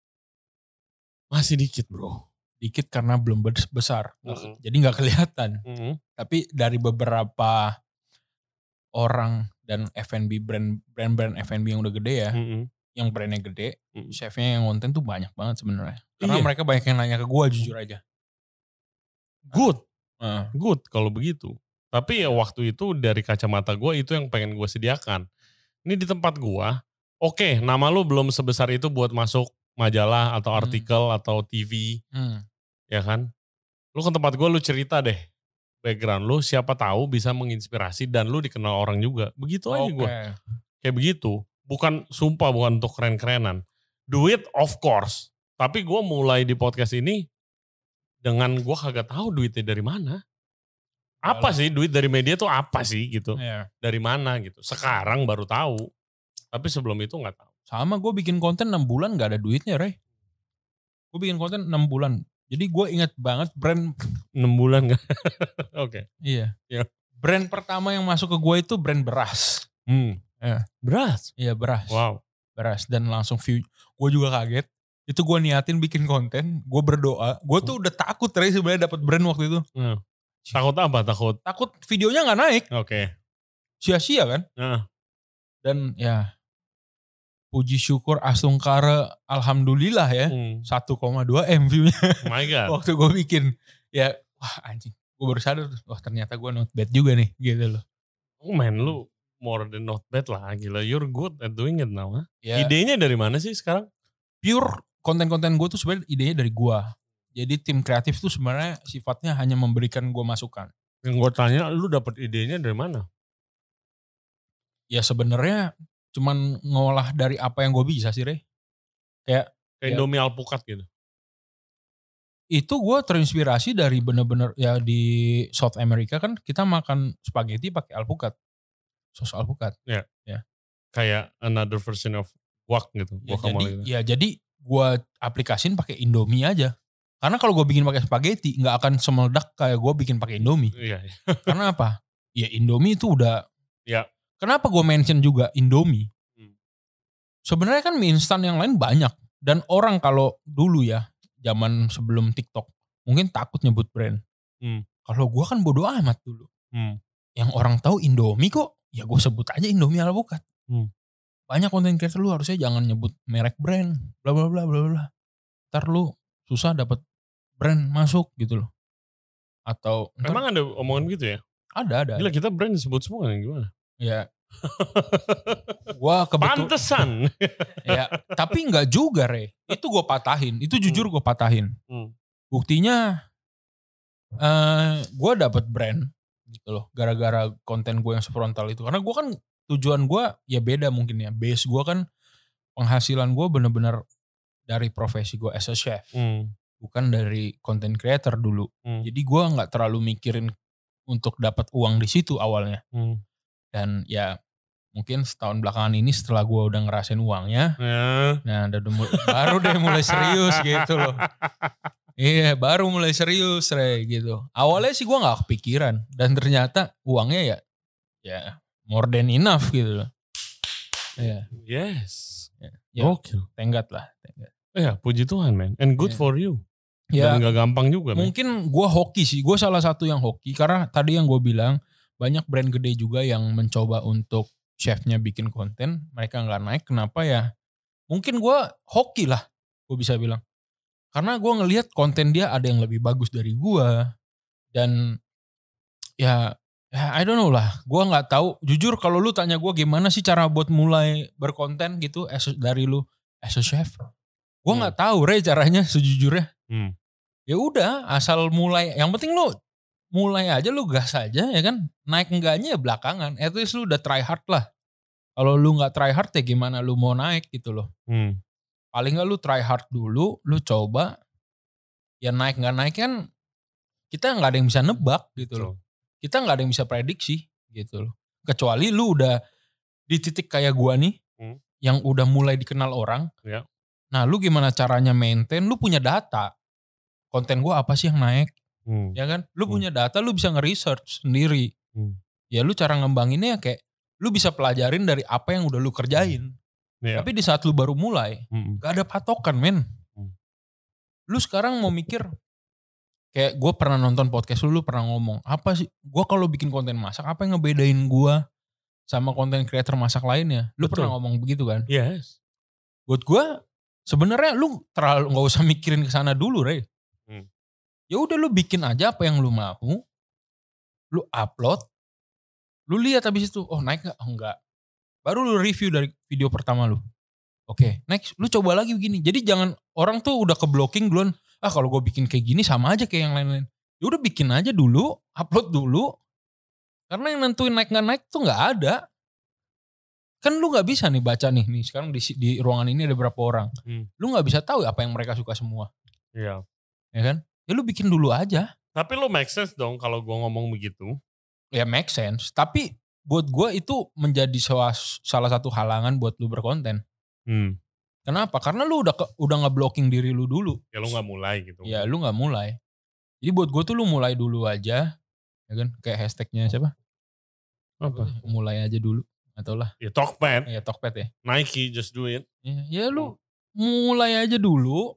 Masih dikit bro. Dikit karena belum bes- besar. Mm-mm. Jadi gak kelihatan. Mm-mm. Tapi dari beberapa orang dan F and B brand brand-brand F and B yang udah gede ya, Mm-mm. yang brandnya gede, Mm. chefnya yang konten tuh banyak banget sebenarnya. Karena Iya. mereka banyak yang nanya ke gue jujur aja. Good. Heeh. Good kalau begitu. Tapi ya waktu itu dari kacamata gue itu yang pengen gue sediakan. Ini di tempat gue Oke, nama lu belum sebesar itu buat masuk majalah atau Hmm. artikel atau T V, Hmm. ya kan? Lu ke tempat gue, lu cerita deh background lu, siapa tahu bisa menginspirasi dan lu dikenal orang juga. Begitu aja Oke. gue. Kayak begitu. Bukan, sumpah bukan untuk keren-kerenan. Duit of course. Tapi gue mulai di podcast ini dengan gue kagak tahu duitnya dari mana. Apa Yalah. sih duit dari media tuh apa sih gitu? Iya. Dari mana gitu? Sekarang baru tahu. Tapi sebelum itu nggak tahu. Sama gue bikin konten enam bulan gak ada duitnya, Rey. Gue bikin konten enam bulan. Jadi gue ingat banget brand. enam bulan gak? Oke. Iya. Ya. Brand pertama yang masuk ke gue itu brand beras. Hmm. Ya. Beras? Iya, beras. Wow. Beras. Dan langsung view. Gue juga kaget. Itu gue niatin bikin konten. Gue berdoa. Gue tuh udah takut, Rey, sebenarnya dapet brand waktu itu. Hmm. Takut apa? Takut? Takut videonya gak naik. Oke. Sia-sia kan. Nah. Dan ya, puji syukur asungkara alhamdulillah ya. Hmm. satu koma dua M view-nya. Oh my God. Waktu gue bikin. Ya, wah anjing. Gue baru sadar, wah ternyata gue not bad juga nih. Gitu loh. Oh man, lu more than not bad lah. Gila, you're good at doing it now. Huh? Ya, idenya dari mana sih sekarang? pure konten-konten gue tuh sebenarnya idenya dari gue. Jadi tim kreatif tuh sebenarnya sifatnya hanya memberikan gue masukan. Yang gue tanya, lu dapet idenya dari mana? Ya sebenarnya cuman ngolah dari apa yang gue bisa sih, Rey. Kayak Kayak ya, Indomie alpukat gitu. itu gue terinspirasi dari bener-bener ya di South America kan kita makan spaghetti pakai alpukat. Sos alpukat. Ya. Ya. Kayak another version of guac gitu. Ya, Guacamole jadi gitu. ya jadi gue aplikasin pakai Indomie aja. Karena kalau gue bikin pakai spaghetti nggak akan semeledak kayak gue bikin pakai Indomie. Iya. iya. Karena apa? Ya Indomie itu udah. Ya. Kenapa gue mention juga Indomie? Hmm. Sebenarnya kan mie instan yang lain banyak. Dan orang kalau dulu ya, zaman sebelum TikTok, mungkin takut nyebut brand. Hmm. Kalau gue kan bodo amat dulu. Hmm. Yang orang tahu Indomie kok, ya gue sebut aja Indomie alpukat. Hmm. Banyak konten creator lu harusnya jangan nyebut merek brand, bla bla bla bla bla. Ntar lu susah dapat brand masuk gitu loh. Atau ntar, Emang ada omongan gitu ya? ada ada. Gila, kita brand disebut semua nih, gimana? Ya. Gua kebetul. Pantesan. Ya, tapi enggak juga, Re. Itu gue patahin. Itu jujur gue patahin. Hmm. Buktinya eh gue dapet brand gitu loh. Gara-gara konten gue yang sefrontal itu. Karena gue kan tujuan gue ya beda mungkin ya. Base gue kan penghasilan gue bener-bener dari profesi gue as a chef. Hmm. Bukan dari content creator dulu. Hmm. Jadi gue nggak terlalu mikirin untuk dapat uang di situ awalnya. Hmm. Dan ya mungkin setahun belakangan ini setelah gue udah ngerasain uangnya, Ya. nah udah mulai, baru deh mulai serius gitu loh. Iya, baru mulai serius, Re, gitu. Awalnya sih gue nggak kepikiran dan ternyata uangnya ya, ya more than enough gitu loh. Iya. Yes. Ya, ya Oke. tenggat lah. Tenggat. Ya, puji Tuhan, man. And good Yeah. for you. Ya, Dan gak gampang juga, man. mungkin gue hoki sih. Gue salah satu yang hoki karena tadi yang gue bilang banyak brand gede juga yang mencoba untuk chefnya bikin konten, mereka nggak naik. Kenapa ya? Mungkin gue hoki lah, gue bisa bilang. Karena gue ngelihat konten dia ada yang lebih bagus dari gue. Dan ya, ya I don't know lah. Gue nggak tahu. Jujur kalau lu tanya gue gimana sih cara buat mulai berkonten gitu as, dari lu as a chef. Gue nggak hmm. tahu, Re, caranya sejujurnya. Hmm. Ya udah, asal mulai. Yang penting lu mulai aja, lu gas aja ya kan. Naik enggaknya ya belakangan. At least lu udah try hard lah. Kalau lu gak try hard ya gimana lu mau naik gitu loh. Hmm. Paling gak lu try hard dulu, lu coba. Ya naik gak naik kan kita gak ada yang bisa nebak gitu loh. Kita gak ada yang bisa prediksi gitu loh. Kecuali lu udah di titik kayak gua nih. Hmm. Yang udah mulai dikenal orang. Ya. Nah lu gimana caranya maintain, lu punya data. Konten gua apa sih yang naik. Hmm. Ya kan, lu hmm. punya data, lu bisa nge-research sendiri. Hmm. Ya lu cara ngembanginnya kayak, lu bisa pelajarin dari apa yang udah lu kerjain. Yeah. Tapi di saat lu baru mulai, hmm. gak ada patokan, men. Hmm. Lu sekarang mau mikir, kayak gue pernah nonton podcast lu, lu pernah ngomong, apa sih, gue kalau bikin konten masak, apa yang ngebedain gue sama konten creator masak lainnya? Lu Betul. Pernah ngomong begitu kan? Yes. Buat gue, sebenarnya lu terlalu gak usah mikirin kesana dulu, Re. Hmm. Ya udah lu bikin aja apa yang lu mau, lu upload, lu lihat habis itu, oh naik gak? Oh enggak. baru lu review dari video pertama lu. Oke, next lu coba lagi begini. Jadi jangan orang tuh udah ke blocking duluan. Ah kalau gue bikin kayak gini sama aja kayak yang lain-lain. Ya udah bikin aja dulu, upload dulu. Karena yang nentuin naik nggak naik tuh nggak ada. Kan lu nggak bisa nih baca nih, nih sekarang di, di ruangan ini ada berapa orang. Hmm. Lu nggak bisa tahu apa yang mereka suka semua. Iya. Ya kan? Ya lu bikin dulu aja. Tapi lu make sense dong kalau gue ngomong begitu. Ya make sense. Tapi buat gue itu menjadi salah satu halangan buat lu berkonten. Hmm. Kenapa? Karena lu udah ke, udah nge-blocking diri lu dulu. Ya lu gak mulai gitu. Ya lu gak mulai. Jadi buat gue tuh lu mulai dulu aja. Ya kan? Kayak hashtagnya siapa? Apa? Mulai aja dulu. Atau lah. Ya Tokped. Ya Tokped ya. Nike, just do it. Ya, ya lu mulai aja dulu.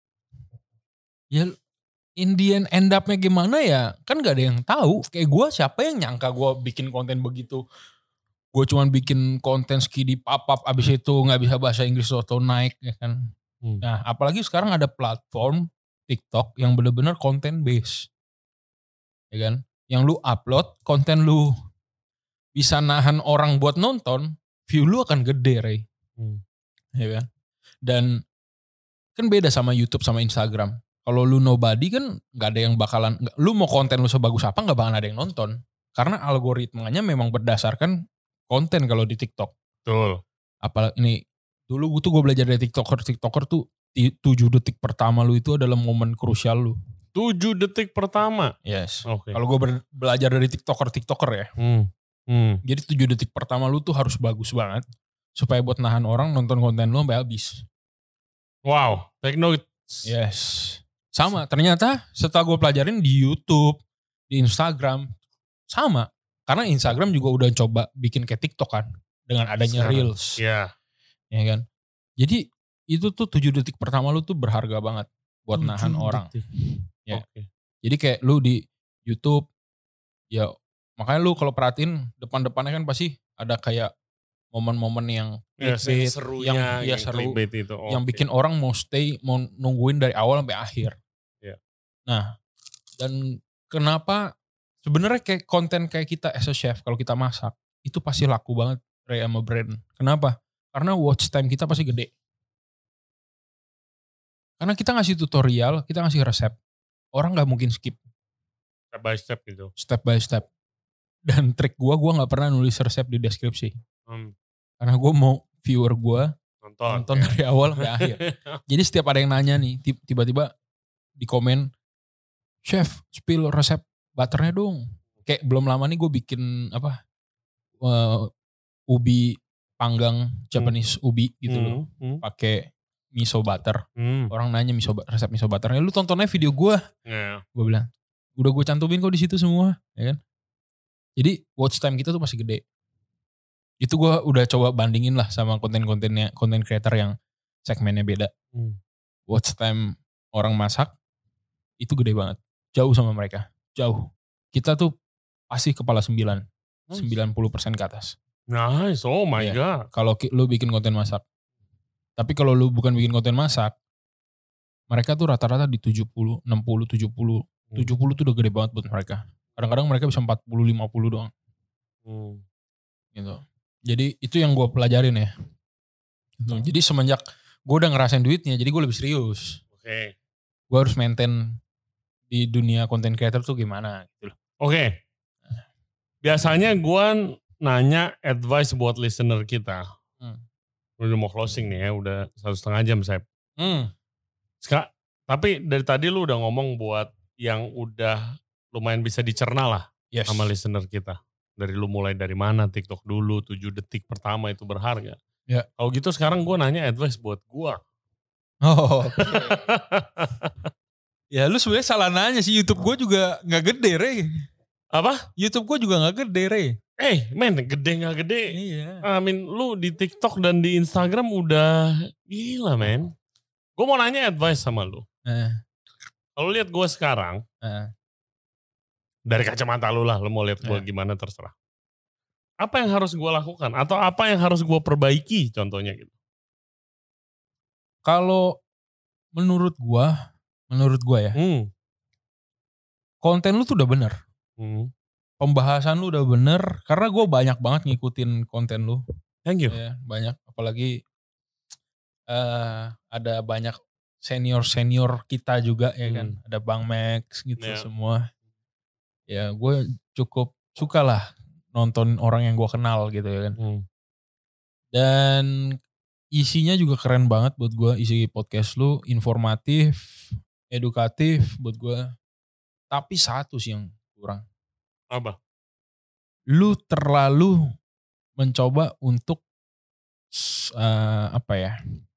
Ya in the end, end up-nya gimana ya? Kan gak ada yang tahu. Kayak gue siapa yang nyangka gue bikin konten begitu. Gue cuman bikin konten skidi pop-up abis itu gak bisa bahasa Inggris atau naik ya kan. Hmm. Nah apalagi sekarang ada platform TikTok yang bener-bener konten base. Ya kan. Yang lu upload konten lu bisa nahan orang buat nonton, view lu akan gede Ray. Hmm. Ya kan. Dan kan beda sama YouTube sama Instagram. Kalau lu nobody kan gak ada yang bakalan, lu mau konten lu sebagus apa gak bakalan ada yang nonton. Karena algoritmanya memang berdasarkan konten kalau di TikTok. Betul. Apalagi ini dulu tuh gue belajar dari TikToker. TikToker tuh tujuh detik pertama lu itu adalah momen krusial lu. tujuh detik pertama? Yes. Oke. Okay. Kalau gue belajar dari TikToker-TikToker ya. Hmm. Hmm. Jadi tujuh detik pertama lu tuh harus bagus banget. Supaya buat nahan orang nonton konten lu sampai habis. Wow. Take note. Yes. Sama. Ternyata setelah gue pelajarin di YouTube, di Instagram. Sama. Karena Instagram juga udah coba bikin kayak TikTok kan. Dengan adanya Sekarang, Reels. Iya. Ya kan. Jadi itu tuh tujuh detik pertama lu tuh berharga banget. Buat nahan orang. Ya. Okay. Jadi kayak lu di YouTube. Ya makanya lu kalau perhatiin depan-depannya kan pasti ada kayak momen-momen yang ya, clickbait. Serunya, yang, yang ya, seru. Itu. Oh, yang okay. bikin orang mau stay. Mau nungguin dari awal sampai akhir. Ya. Nah. Dan kenapa. Sebenarnya kayak konten kayak kita as a chef kalau kita masak itu pasti laku banget Ray sama brand. Kenapa? Karena watch time kita pasti gede. Karena kita ngasih tutorial, kita ngasih resep. Orang nggak mungkin skip. Step by step gitu. Step by step. Dan trik gue, gue nggak pernah nulis resep di deskripsi. Hmm. Karena gue mau viewer gue nonton, nonton ya. Dari awal sampai akhir. Jadi setiap ada yang nanya nih, tiba-tiba di komen, chef spill resep butternya dong. Kayak belum lama nih gue bikin apa uh, ubi panggang Japanese hmm. ubi gitu hmm. loh, hmm. pakai miso butter. Hmm. Orang nanya miso resep miso butternya, lu tontonnya video gue. Yeah. Gue bilang, udah gue cantumin kok di situ semua, ya kan. Jadi watch time kita tuh masih gede. Itu gue udah coba bandingin lah sama konten-kontennya konten creator yang segmennya beda. Hmm. Watch time orang masak itu gede banget, jauh sama mereka. Jauh. Kita tuh pasti kepala sembilan. Nice. sembilan puluh persen ke atas. Nice. Oh my ya, God. Kalau lu bikin konten masak. Tapi kalau lu bukan bikin konten masak. Mereka tuh rata-rata di tujuh puluh, enam puluh, tujuh puluh. Hmm. tujuh puluh tuh udah gede banget buat mereka. Kadang-kadang mereka bisa empat puluh, lima puluh doang. Hmm. Gitu. Jadi itu yang gue pelajarin ya. Gitu. Hmm. Jadi semenjak gue udah ngerasain duitnya. Jadi gue lebih serius. Oke. Okay. Gue harus maintain di dunia content creator tuh gimana gitu loh. Oke. Okay. Biasanya gue nanya advice buat listener kita. Hmm. Udah mau closing nih ya, udah satu setengah jam Sep. Hmm. Ska, tapi dari tadi lu udah ngomong buat yang udah lumayan bisa dicerna lah yes. sama listener kita. Dari lu mulai dari mana, TikTok dulu, tujuh detik pertama itu berharga. Ya. Kalau gitu sekarang gue nanya advice buat gue. Oh, okay. Ya lu sebenarnya salah nanya sih, YouTube gue juga gak gede Rey. Apa? YouTube gue juga gak gede Rey. Eh men gede gak gede. Iya. I mean lu di TikTok dan di Instagram udah gila men. Gue mau nanya advice sama lu. Eh. Kalau lihat gue sekarang. Eh. Dari kacamata lu lah. Lu mau lihat gue eh. gimana terserah. Apa yang harus gue lakukan? Atau apa yang harus gue perbaiki contohnya gitu. Kalau menurut gue. Menurut gue ya. Hmm. Konten lu tuh udah bener. Hmm. Pembahasan lu udah bener. Karena gue banyak banget ngikutin konten lu. Thank you. Ya, banyak. Apalagi uh, ada banyak senior-senior kita juga ya kan. Hmm. Ada Bang Max gitu Yeah. semua. Ya gue cukup suka lah nonton orang yang gue kenal gitu ya kan. Hmm. Dan isinya juga keren banget buat gue. Isi podcast lu informatif, edukatif buat gue. Tapi satu sih yang kurang. Apa? Lu terlalu mencoba untuk uh, apa ya?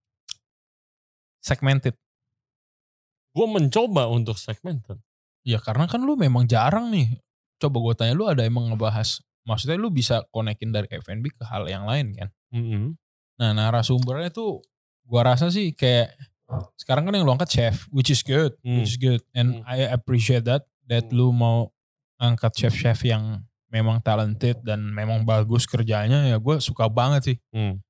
Segmented. Gue mencoba untuk segmented. Ya karena kan lu memang jarang nih. Coba gue tanya lu ada emang ngebahas. Maksudnya lu bisa konekin dari F and B ke hal yang lain kan. Mm-hmm. Nah narasumbernya tuh gue rasa sih kayak sekarang kan yang lu angkat chef. Which is good. Mm. Which is good. And Mm. I appreciate that. That Mm. lu mau angkat chef-chef yang memang talented dan memang bagus kerjanya. Ya gue suka banget sih. Mm.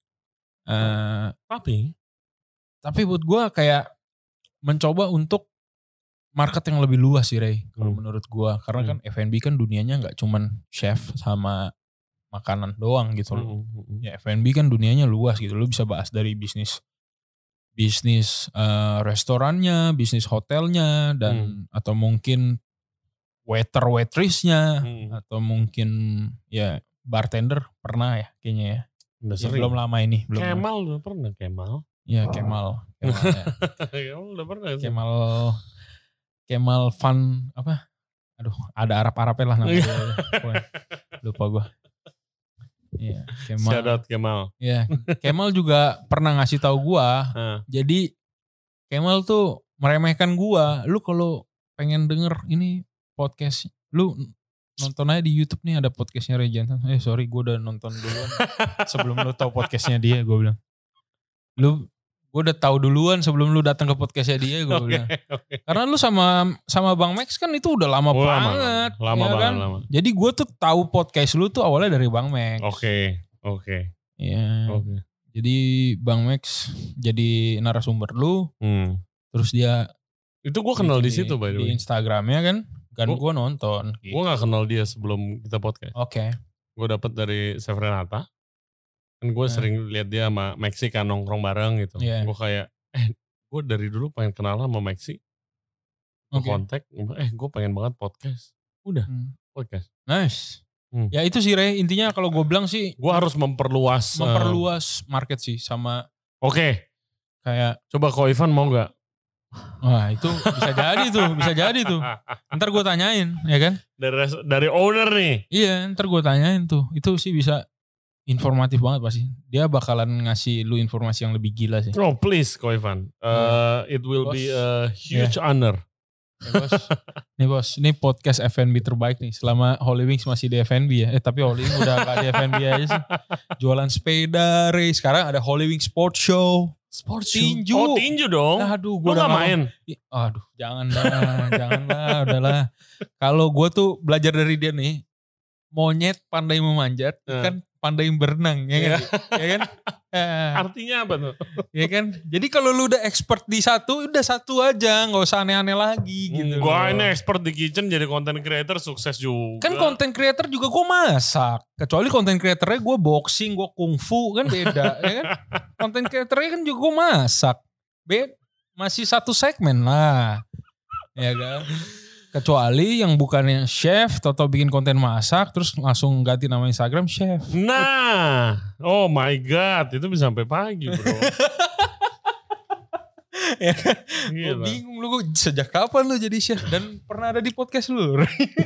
Uh, Tapi. Tapi buat gue kayak mencoba untuk market yang lebih luas sih Ray, kalau hmm. menurut gua. Karena hmm. kan F and B kan dunianya gak cuman chef sama makanan doang gitu loh. Hmm. Ya F and B kan dunianya luas gitu. Lu bisa bahas dari bisnis bisnis uh, restorannya, bisnis hotelnya, dan hmm. atau mungkin waiter waitressnya, hmm. atau mungkin ya bartender pernah ya kayaknya ya. Udah ya belum lama ini. Belum Kemal lama. Udah pernah Kemal. Ya Kemal. Kemal ya. Kemal udah pernah sih. Kemal Kemal Fun apa? Aduh, ada Arab-Arabnya lah namanya. Lupa gue. Iya, Kemal. Shout out Kemal. Iya, Kemal juga pernah ngasih tahu gue. Uh. Jadi Kemal tuh meremehkan gue. Lu kalau pengen denger ini podcast, lu nonton aja di YouTube nih ada podcastnya Ray Jensen. Eh sorry, gue udah nonton duluan sebelum lu tahu podcastnya dia. Gue bilang, lu gue udah tahu duluan sebelum lu datang ke podcastnya dia. Gue okay, bilang, okay. Karena lu sama sama Bang Max kan itu udah lama oh, banget, lama, lama ya banget. Kan? Lama. Jadi gue tuh tahu podcast lu tuh awalnya dari Bang Max. Oke, okay, oke. Okay. Iya. Okay. Jadi Bang Max jadi narasumber lu, hmm. terus dia itu gue kenal di situ by the way. Di Instagramnya kan, kan gue nonton. Gitu. Gue nggak kenal dia sebelum kita podcast. Oke. Okay. Gue dapet dari Chef Renata. Kan gue nah. sering lihat dia sama Maxi kan nongkrong bareng gitu. Yeah. Gue kayak, eh gue dari dulu pengen kenal sama Maxi. Gue okay. kontak, eh gue pengen banget podcast. Udah, hmm. podcast. Nice. Hmm. Ya itu sih Ray, intinya kalau gue bilang sih. Gue harus memperluas. Memperluas uh, market sih sama. Oke. Okay. Kayak. Coba Ko Ivan mau gak? Wah itu bisa jadi tuh, bisa jadi tuh. Ntar gue tanyain, ya kan? Dari dari owner nih. Iya, ntar gue tanyain tuh. Itu sih bisa informatif banget pasti. Dia bakalan ngasih lu informasi yang lebih gila sih. Oh please, Ko Ivan. Uh, yeah. It will bos. Be a huge yeah. honor. Nih bos, nih bos, ini podcast F and B terbaik nih. Selama Holy Wings masih di F and B ya. Eh tapi Holy Wings udah gak di F and B aja sih. Jualan sepeda, Ray. Sekarang ada Holy Wings Sport Show. Sport tinju. Oh tinju dong. Aduh, gue udah main. Aduh, jangan lah, jangan lah, udahlah. Kalau gue tuh belajar dari dia nih, monyet pandai memanjat, uh. kan pandai berenang, ya kan? Ya kan? Artinya apa tuh? Ya kan? Jadi kalau lu udah expert di satu, udah satu aja, nggak usah aneh-aneh lagi gitu. Gue ini expert di kitchen, jadi content creator sukses juga. Kan content creator juga gue masak. Kecuali content creatornya gue boxing, gue kungfu, kan beda, ya kan? Content creatornya kan juga gue masak. Beda, masih satu segmen lah, ya kan? Kecuali yang bukannya chef atau bikin konten masak terus langsung ganti nama Instagram chef. Nah, oh my god, itu bisa sampai pagi bro. Ya kan? Gue bingung lu, sejak kapan lu jadi chef dan pernah ada di podcast lu?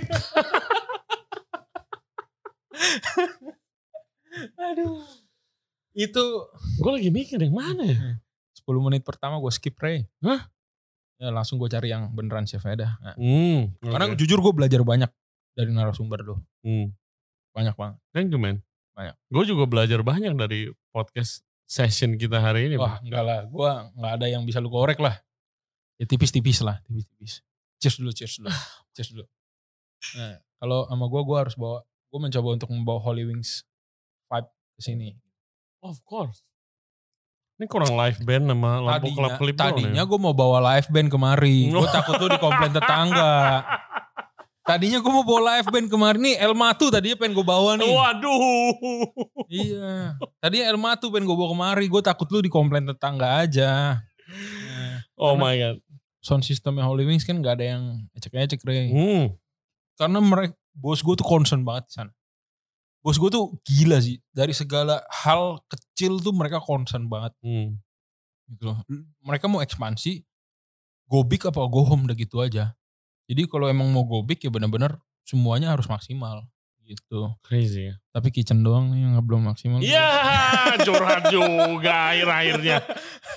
Aduh. Itu gue lagi mikir yang mana ya? sepuluh menit pertama gue skip Ray. Hah? Ya langsung gue cari yang beneran chef aja dah. Nah. Hmm, okay. Karena jujur gue belajar banyak dari narasumber lo. Hmm. Banyak banget. Thank you man. Banyak. Gue juga belajar banyak dari podcast session kita hari ini. Wah enggak lah, gue gak ada yang bisa lu korek lah. Ya tipis-tipis lah, tipis-tipis. Cheers dulu, cheers dulu. Cheers dulu. Nah kalau sama gue, gue harus bawa, gue mencoba untuk membawa Holy Wings vibe ke sini. Of course. Ini kurang live band sama lampu kelap-kelip. Tadinya gue mau bawa live band kemari. Gue takut lu dikomplain tetangga. Tadinya gue mau bawa live band kemarin nih, El Matu tadinya pengen gue bawa nih. Waduh. Iya. Tadinya El Matu pengen gue bawa kemari, gue takut lu dikomplain tetangga aja. Nah, Oh my god. Sound systemnya Holy Wings kan gak ada yang ecek-ecek, Ray. Hmm. Karena mereka, bos gue tuh concern banget di sana. Bos gue tuh gila sih, dari segala hal kecil tuh mereka concern banget. Hmm. Gitu loh. Mereka mau ekspansi, go big apa go home udah gitu aja. Jadi kalau emang mau go big ya benar-benar semuanya harus maksimal gitu. Crazy ya. Tapi kitchen doang nih yang belum maksimal. Iya, curhat juga akhir-akhirnya.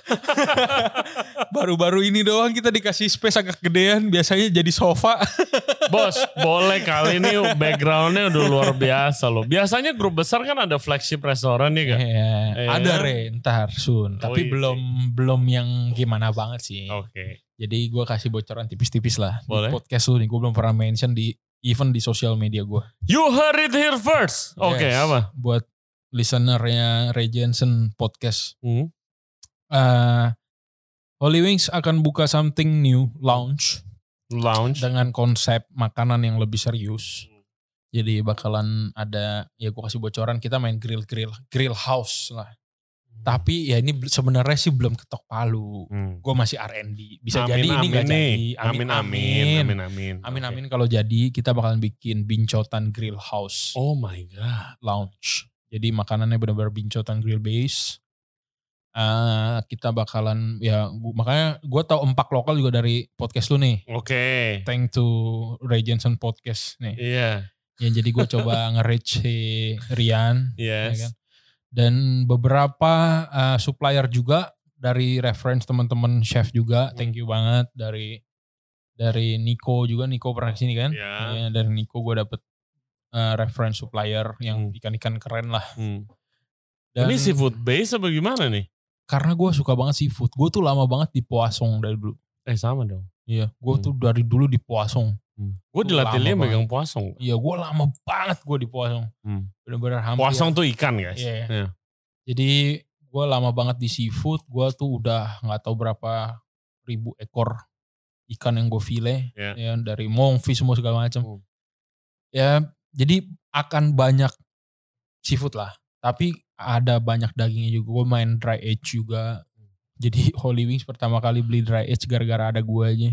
Baru-baru ini doang kita dikasih space agak gedean, biasanya jadi sofa. Bos, boleh kali ini backgroundnya udah luar biasa loh. Biasanya grup besar kan ada flagship restoran nih kan? Iya, Iya. ada Re, ntar soon. Oh, Tapi iya belum belum yang gimana banget sih. Oke. Okay. Jadi gue kasih bocoran tipis-tipis lah. Boleh. Di podcast lu nih, gue belum pernah mention di even di sosial media gue. You heard it here first. Oke, okay, Yes, apa? Buat listenernya Ray Jensen podcast. Hmm. Uh, Holy Wings akan buka something new, lounge. Lounge. Dengan konsep makanan yang lebih serius. Jadi bakalan ada, ya gue kasih bocoran, kita main grill-grill, grill house lah. Tapi ya ini sebenarnya sih belum ketok palu. Hmm. Gue masih R and D. Bisa amin, jadi amin, ini gak nih. jadi. Amin, amin, amin. Amin, amin. Amin, amin. Okay. Kalau jadi kita bakalan bikin bincotan grill house. Oh my God. Lounge. Jadi makanannya benar-benar bincotan grill base. Uh, kita bakalan, ya gua, makanya gue tau empak lokal juga dari podcast lu nih. Oke. Okay. Thank to Ray Jensen podcast nih. Iya. Yeah. Ya jadi gue coba nge-reach si Rian. Yes. Ya kan? Dan beberapa uh, supplier juga dari reference teman-teman chef juga, thank you banget dari dari Nico juga, Nico pernah kesini kan? Yeah. Ya, dari Nico gue dapet uh, reference supplier yang hmm. ikan-ikan keren lah. Hmm. Dan, ini seafood base apa gimana nih? Karena gue suka banget seafood, gue tuh lama banget di Poisson dari dulu. Eh sama dong. Iya, gue hmm. tuh dari dulu di Poisson. Hmm. Gue dilatihnya megang Poisson. Iya, gue lama banget gue di Poisson. Hmm. Bener-bener hampir. Poisson tuh ikan guys. Iya. Yeah. Jadi gue lama banget di seafood. Gue tuh udah gak tahu berapa ribu ekor ikan yang gue file. Yeah. Ya, dari monkfish semua segala macam. Hmm. Ya, jadi akan banyak seafood lah. Tapi ada banyak dagingnya juga. Gue main dry age juga. Jadi Holy Wings pertama kali beli dry age gara-gara ada gue aja.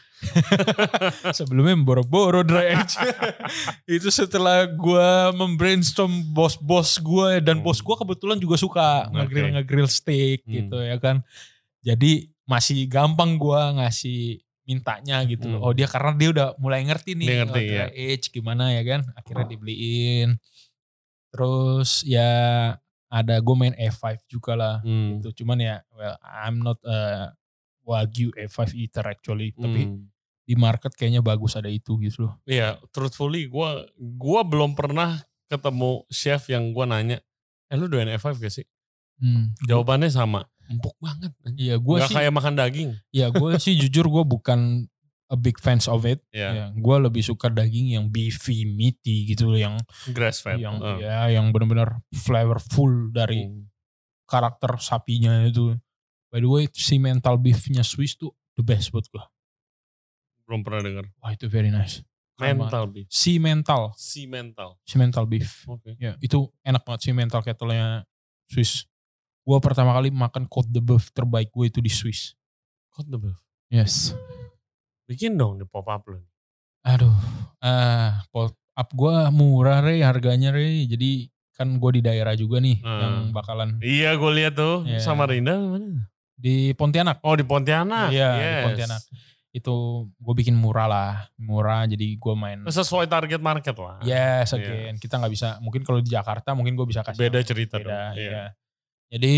Sebelumnya boro-boro dry age. Itu setelah gue membrainstorm bos-bos gue. Dan bos gue kebetulan juga suka okay. nge-grill-nge-grill steak hmm. gitu ya kan. Jadi masih gampang gue ngasih mintanya gitu loh. Hmm. Oh dia karena dia udah mulai ngerti nih. Dia ngerti, oh, dry ya. age gimana ya kan. Akhirnya dibeliin. Terus ya ada gue main A five juga lah hmm. gitu. Cuman ya well I'm not a Wagyu A five eater actually. Hmm. Tapi di market kayaknya bagus ada itu gitu loh. Iya, truthfully gue gua belum pernah ketemu chef yang gue nanya, eh lu doyan A five gak sih? Hmm. Jawabannya sama, empuk banget. Iya, gue sih. Gak kayak makan daging. Iya, gue sih jujur gue bukan a big fans of it. Yeah. Ya, gue lebih suka daging yang beefy, meaty gitu loh, yang grass fed. Yang uh. ya, yang benar-benar flavorful dari hmm. karakter sapinya itu. By the way, si mental beefnya Swiss tuh the best buat gue. Belum pernah dengar. Wah itu very nice. Mental beef. Si mental. Si mental. Si mental beef. Oke. Okay. Ya itu enak banget si mental kettle-nya Swiss. Gue pertama kali makan Côte de Boeuf terbaik gue itu di Swiss. Côte de Boeuf. Yes. Bikin dong di pop up lo. Aduh, ah pop up gue murah Re, harganya Re. Jadi kan gue di daerah juga nih hmm. yang bakalan. Iya gue lihat tuh yeah. sama Rinda mana? Di Pontianak. Oh di Pontianak. Iya yes. di Pontianak. Itu gue bikin murah lah, murah jadi gue main. Sesuai target market lah. Yes again, yeah. Kita gak bisa, mungkin kalau di Jakarta mungkin gue bisa kasih. Beda cerita beda, dong. Iya. Yeah. Jadi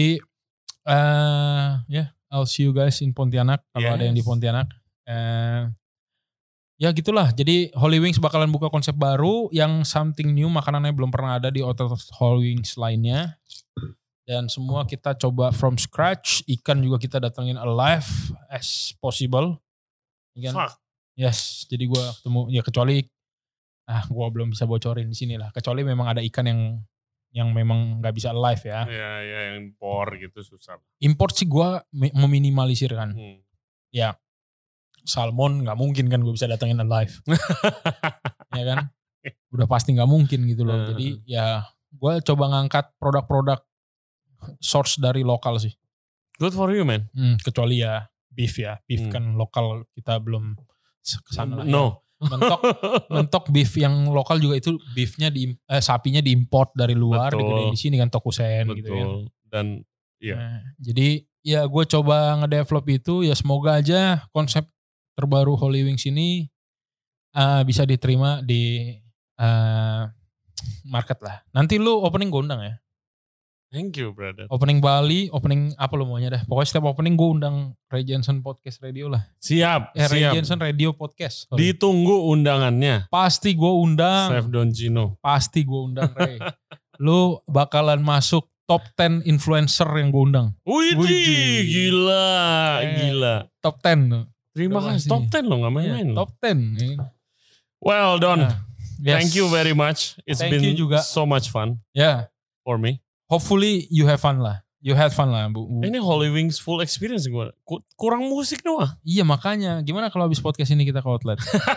uh, ya yeah, I'll see you guys in Pontianak kalau yes. ada yang di Pontianak. Uh, ya gitulah, jadi Holy Wings bakalan buka konsep baru yang something new, makanannya belum pernah ada di hotel Holy Wings lainnya. Dan semua kita coba from scratch, ikan juga kita datengin alive as possible. Ikan, Fuck. Yes, jadi gue ketemu, ya kecuali, ah gue belum bisa bocorin di sini lah. Kecuali memang ada ikan yang yang memang nggak bisa live ya. Iya, ya, yang impor gitu susah. Import sih gue meminimalisir kan. Hmm. Ya, Salmon nggak mungkin kan gue bisa datengin live. Ya kan? Udah pasti nggak mungkin gitu loh. Jadi ya gue coba ngangkat produk-produk source dari lokal sih. Good for you, man. Hmm, kecuali ya beef ya. Beef hmm. kan lokal kita belum kesana lah. No. Ya. Mentok, mentok beef yang lokal juga itu beefnya di eh, sapinya diimport dari luar, digedein di sini kan Tokusen gitu ya. Dan iya. Nah, jadi ya gue coba ngedevelop itu ya semoga aja konsep terbaru Holy Wings ini uh, bisa diterima di uh, market lah. Nanti lu opening gue undang ya. Thank you, brother. Opening Bali, opening apa lu maunya dah. Pokoknya setiap opening gue undang Ray Jensen Podcast Radio lah. Siap, eh, Ray siap. Jensen Radio Podcast. Sorry. Ditunggu undangannya. Pasti gue undang. Chef Doncino. Pasti gue undang, Ray. Lu bakalan masuk top ten influencer yang gue undang. Wih, gila, eh, gila. Top ten. Terima kasih. Top ten loh, gak main-main. Yeah, top ten. Well done. Nah, yes. Thank you very much. It's Thank been juga. so much fun. Yeah. For me. Hopefully you have fun lah. You had fun lah, Bu. Ini Holy Wings full experience gue. Kurang musik doang. Iya makanya. Gimana kalau habis podcast ini kita ke outlet?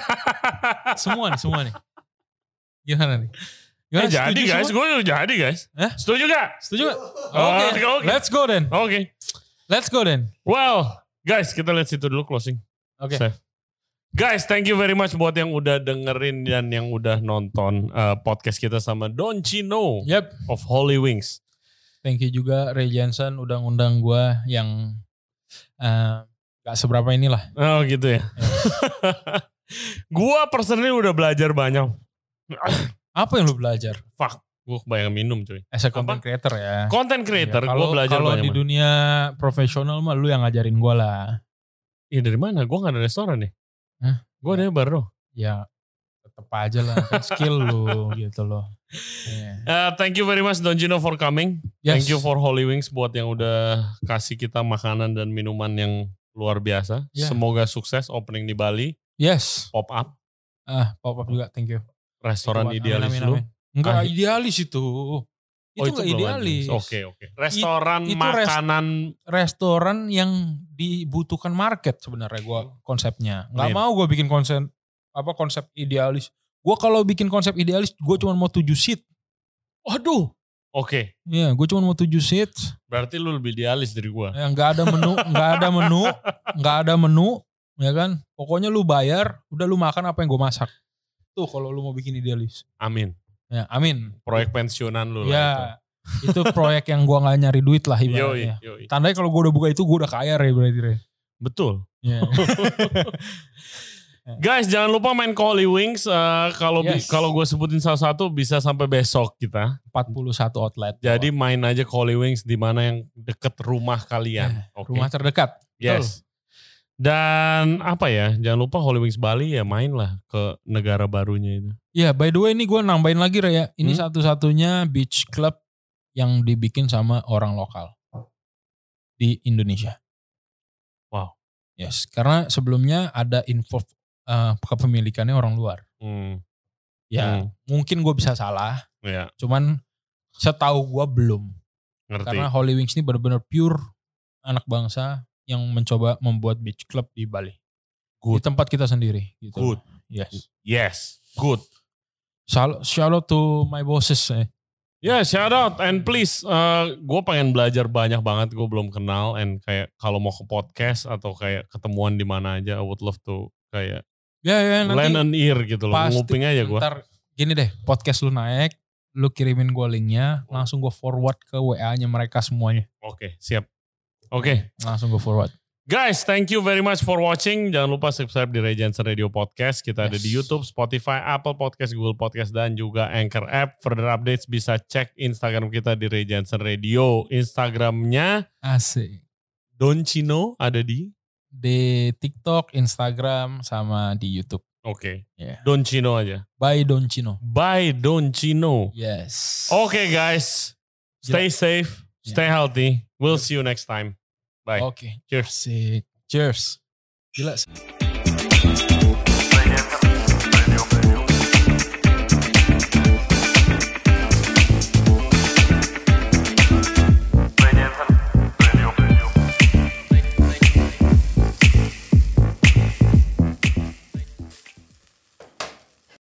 Semua nih, semua nih. Gimana nih? Gimana, eh, jadi guys, gue udah jadi guys. Eh? Setuju gak? Setuju gak? Oke, okay. okay, okay. Let's go then. Oke. Okay. Let's go then. Well, guys, kita lihat situ dulu closing. Oke. Okay. Guys, thank you very much buat yang udah dengerin dan yang udah nonton uh, podcast kita sama Doncino yep. of Holy Wings. Thank you juga Ray Jensen udah ngundang gue yang uh, gak seberapa inilah. Oh gitu ya. Yeah. Gue personally udah belajar banyak. Apa yang lu belajar? Fuck, gue kebayang minum cuy. As a content creator ya. Content creator, ya, gue belajar kalo banyak. Kalau di dunia profesional mah lu yang ngajarin gue lah. Iya dari mana? Gue gak ada restoran nih. Hah? Gue ada baru. Ya tetep aja lah. Kan skill lu gitu loh. Yeah. Uh, thank you very much Doncino for coming. Yes. Thank you for Holy Wings buat yang udah kasih kita makanan dan minuman yang luar biasa. Yeah. Semoga sukses opening di Bali. Yes. Pop up. Ah, pop up juga. Thank you. Restoran amin, idealis amin, lu. Amin. Enggak ah, idealis itu. Itu oh, itu enggak idealis. Oke okay, oke. Okay. Restoran It, makanan. Rest, restoran yang dibutuhkan market sebenarnya gue konsepnya. Enggak mau gue bikin konsep apa konsep idealis. Gue kalau bikin konsep idealis gue cuma mau tujuh seat. Waduh. Oke. Okay. Iya, gue cuma mau tujuh seat. Berarti lu lebih idealis dari gue. Ya, gak ada menu, gak ada menu, gak ada menu, ya kan? Pokoknya lu bayar, udah lu makan apa yang gue masak. Tuh kalau lu mau bikin idealis. Amin. Ya, amin. Proyek pensiunan lu ya, lah itu. Itu proyek yang gue gak nyari duit lah ibaratnya. Yoi, yoi. Tandanya kalau gue udah buka itu gue udah kaya Ray berarti Ray. Betul. Yeah. Guys, jangan lupa main ke Holy Wings. Uh, kalau yes. kalau gue sebutin salah satu bisa sampai besok kita. empat puluh satu outlet. Jadi main aja ke Holy Wings di mana yang deket rumah kalian. Yeah, okay. Rumah terdekat. Yes. Betul. Dan apa ya, jangan lupa Holy Wings Bali ya main lah ke negara barunya itu. Ya, yeah, by the way ini gue nambahin lagi Ray ya. Ini hmm? satu-satunya beach club yang dibikin sama orang lokal di Indonesia. Wow. Yes, karena sebelumnya ada info uh, kepemilikannya orang luar. Hmm. Ya, hmm. mungkin gue bisa salah. Ya. Cuman setahu gue belum. Ngerti. Karena Holy Wings ini benar-benar pure anak bangsa yang mencoba membuat beach club di Bali. Good. Di tempat kita sendiri. Gitu. Good. Yes. Yes. Good. Shout out to my bosses. Eh. Ya, yeah, shout out and please, uh, gue pengen belajar banyak banget, gue belum kenal, and kayak kalau mau ke podcast atau kayak ketemuan di mana aja, I would love to kayak ya, ya, lend an ear gitu loh, nguping aja gue. Ntar gini deh, podcast lu naik, lu kirimin gue linknya, langsung gue forward ke W A-nya mereka semuanya. Oke, okay, siap. Oke. Okay. Langsung gue forward. Guys, thank you very much for watching. Jangan lupa subscribe di Ray Jensen Radio Podcast. Kita yes. ada di YouTube, Spotify, Apple Podcast, Google Podcast, dan juga Anchor App. Further updates bisa cek Instagram kita di Ray Jensen Radio. Instagramnya asik. Doncino ada di? Di TikTok, Instagram, sama di YouTube. Oke. Okay. Yeah. Doncino aja. By Doncino. By Doncino. Yes. Oke okay, guys. Stay yeah. safe. Stay yeah. healthy. We'll see you next time. Bye. Oke. Okay. Cheers. Asik. Cheers. Gila.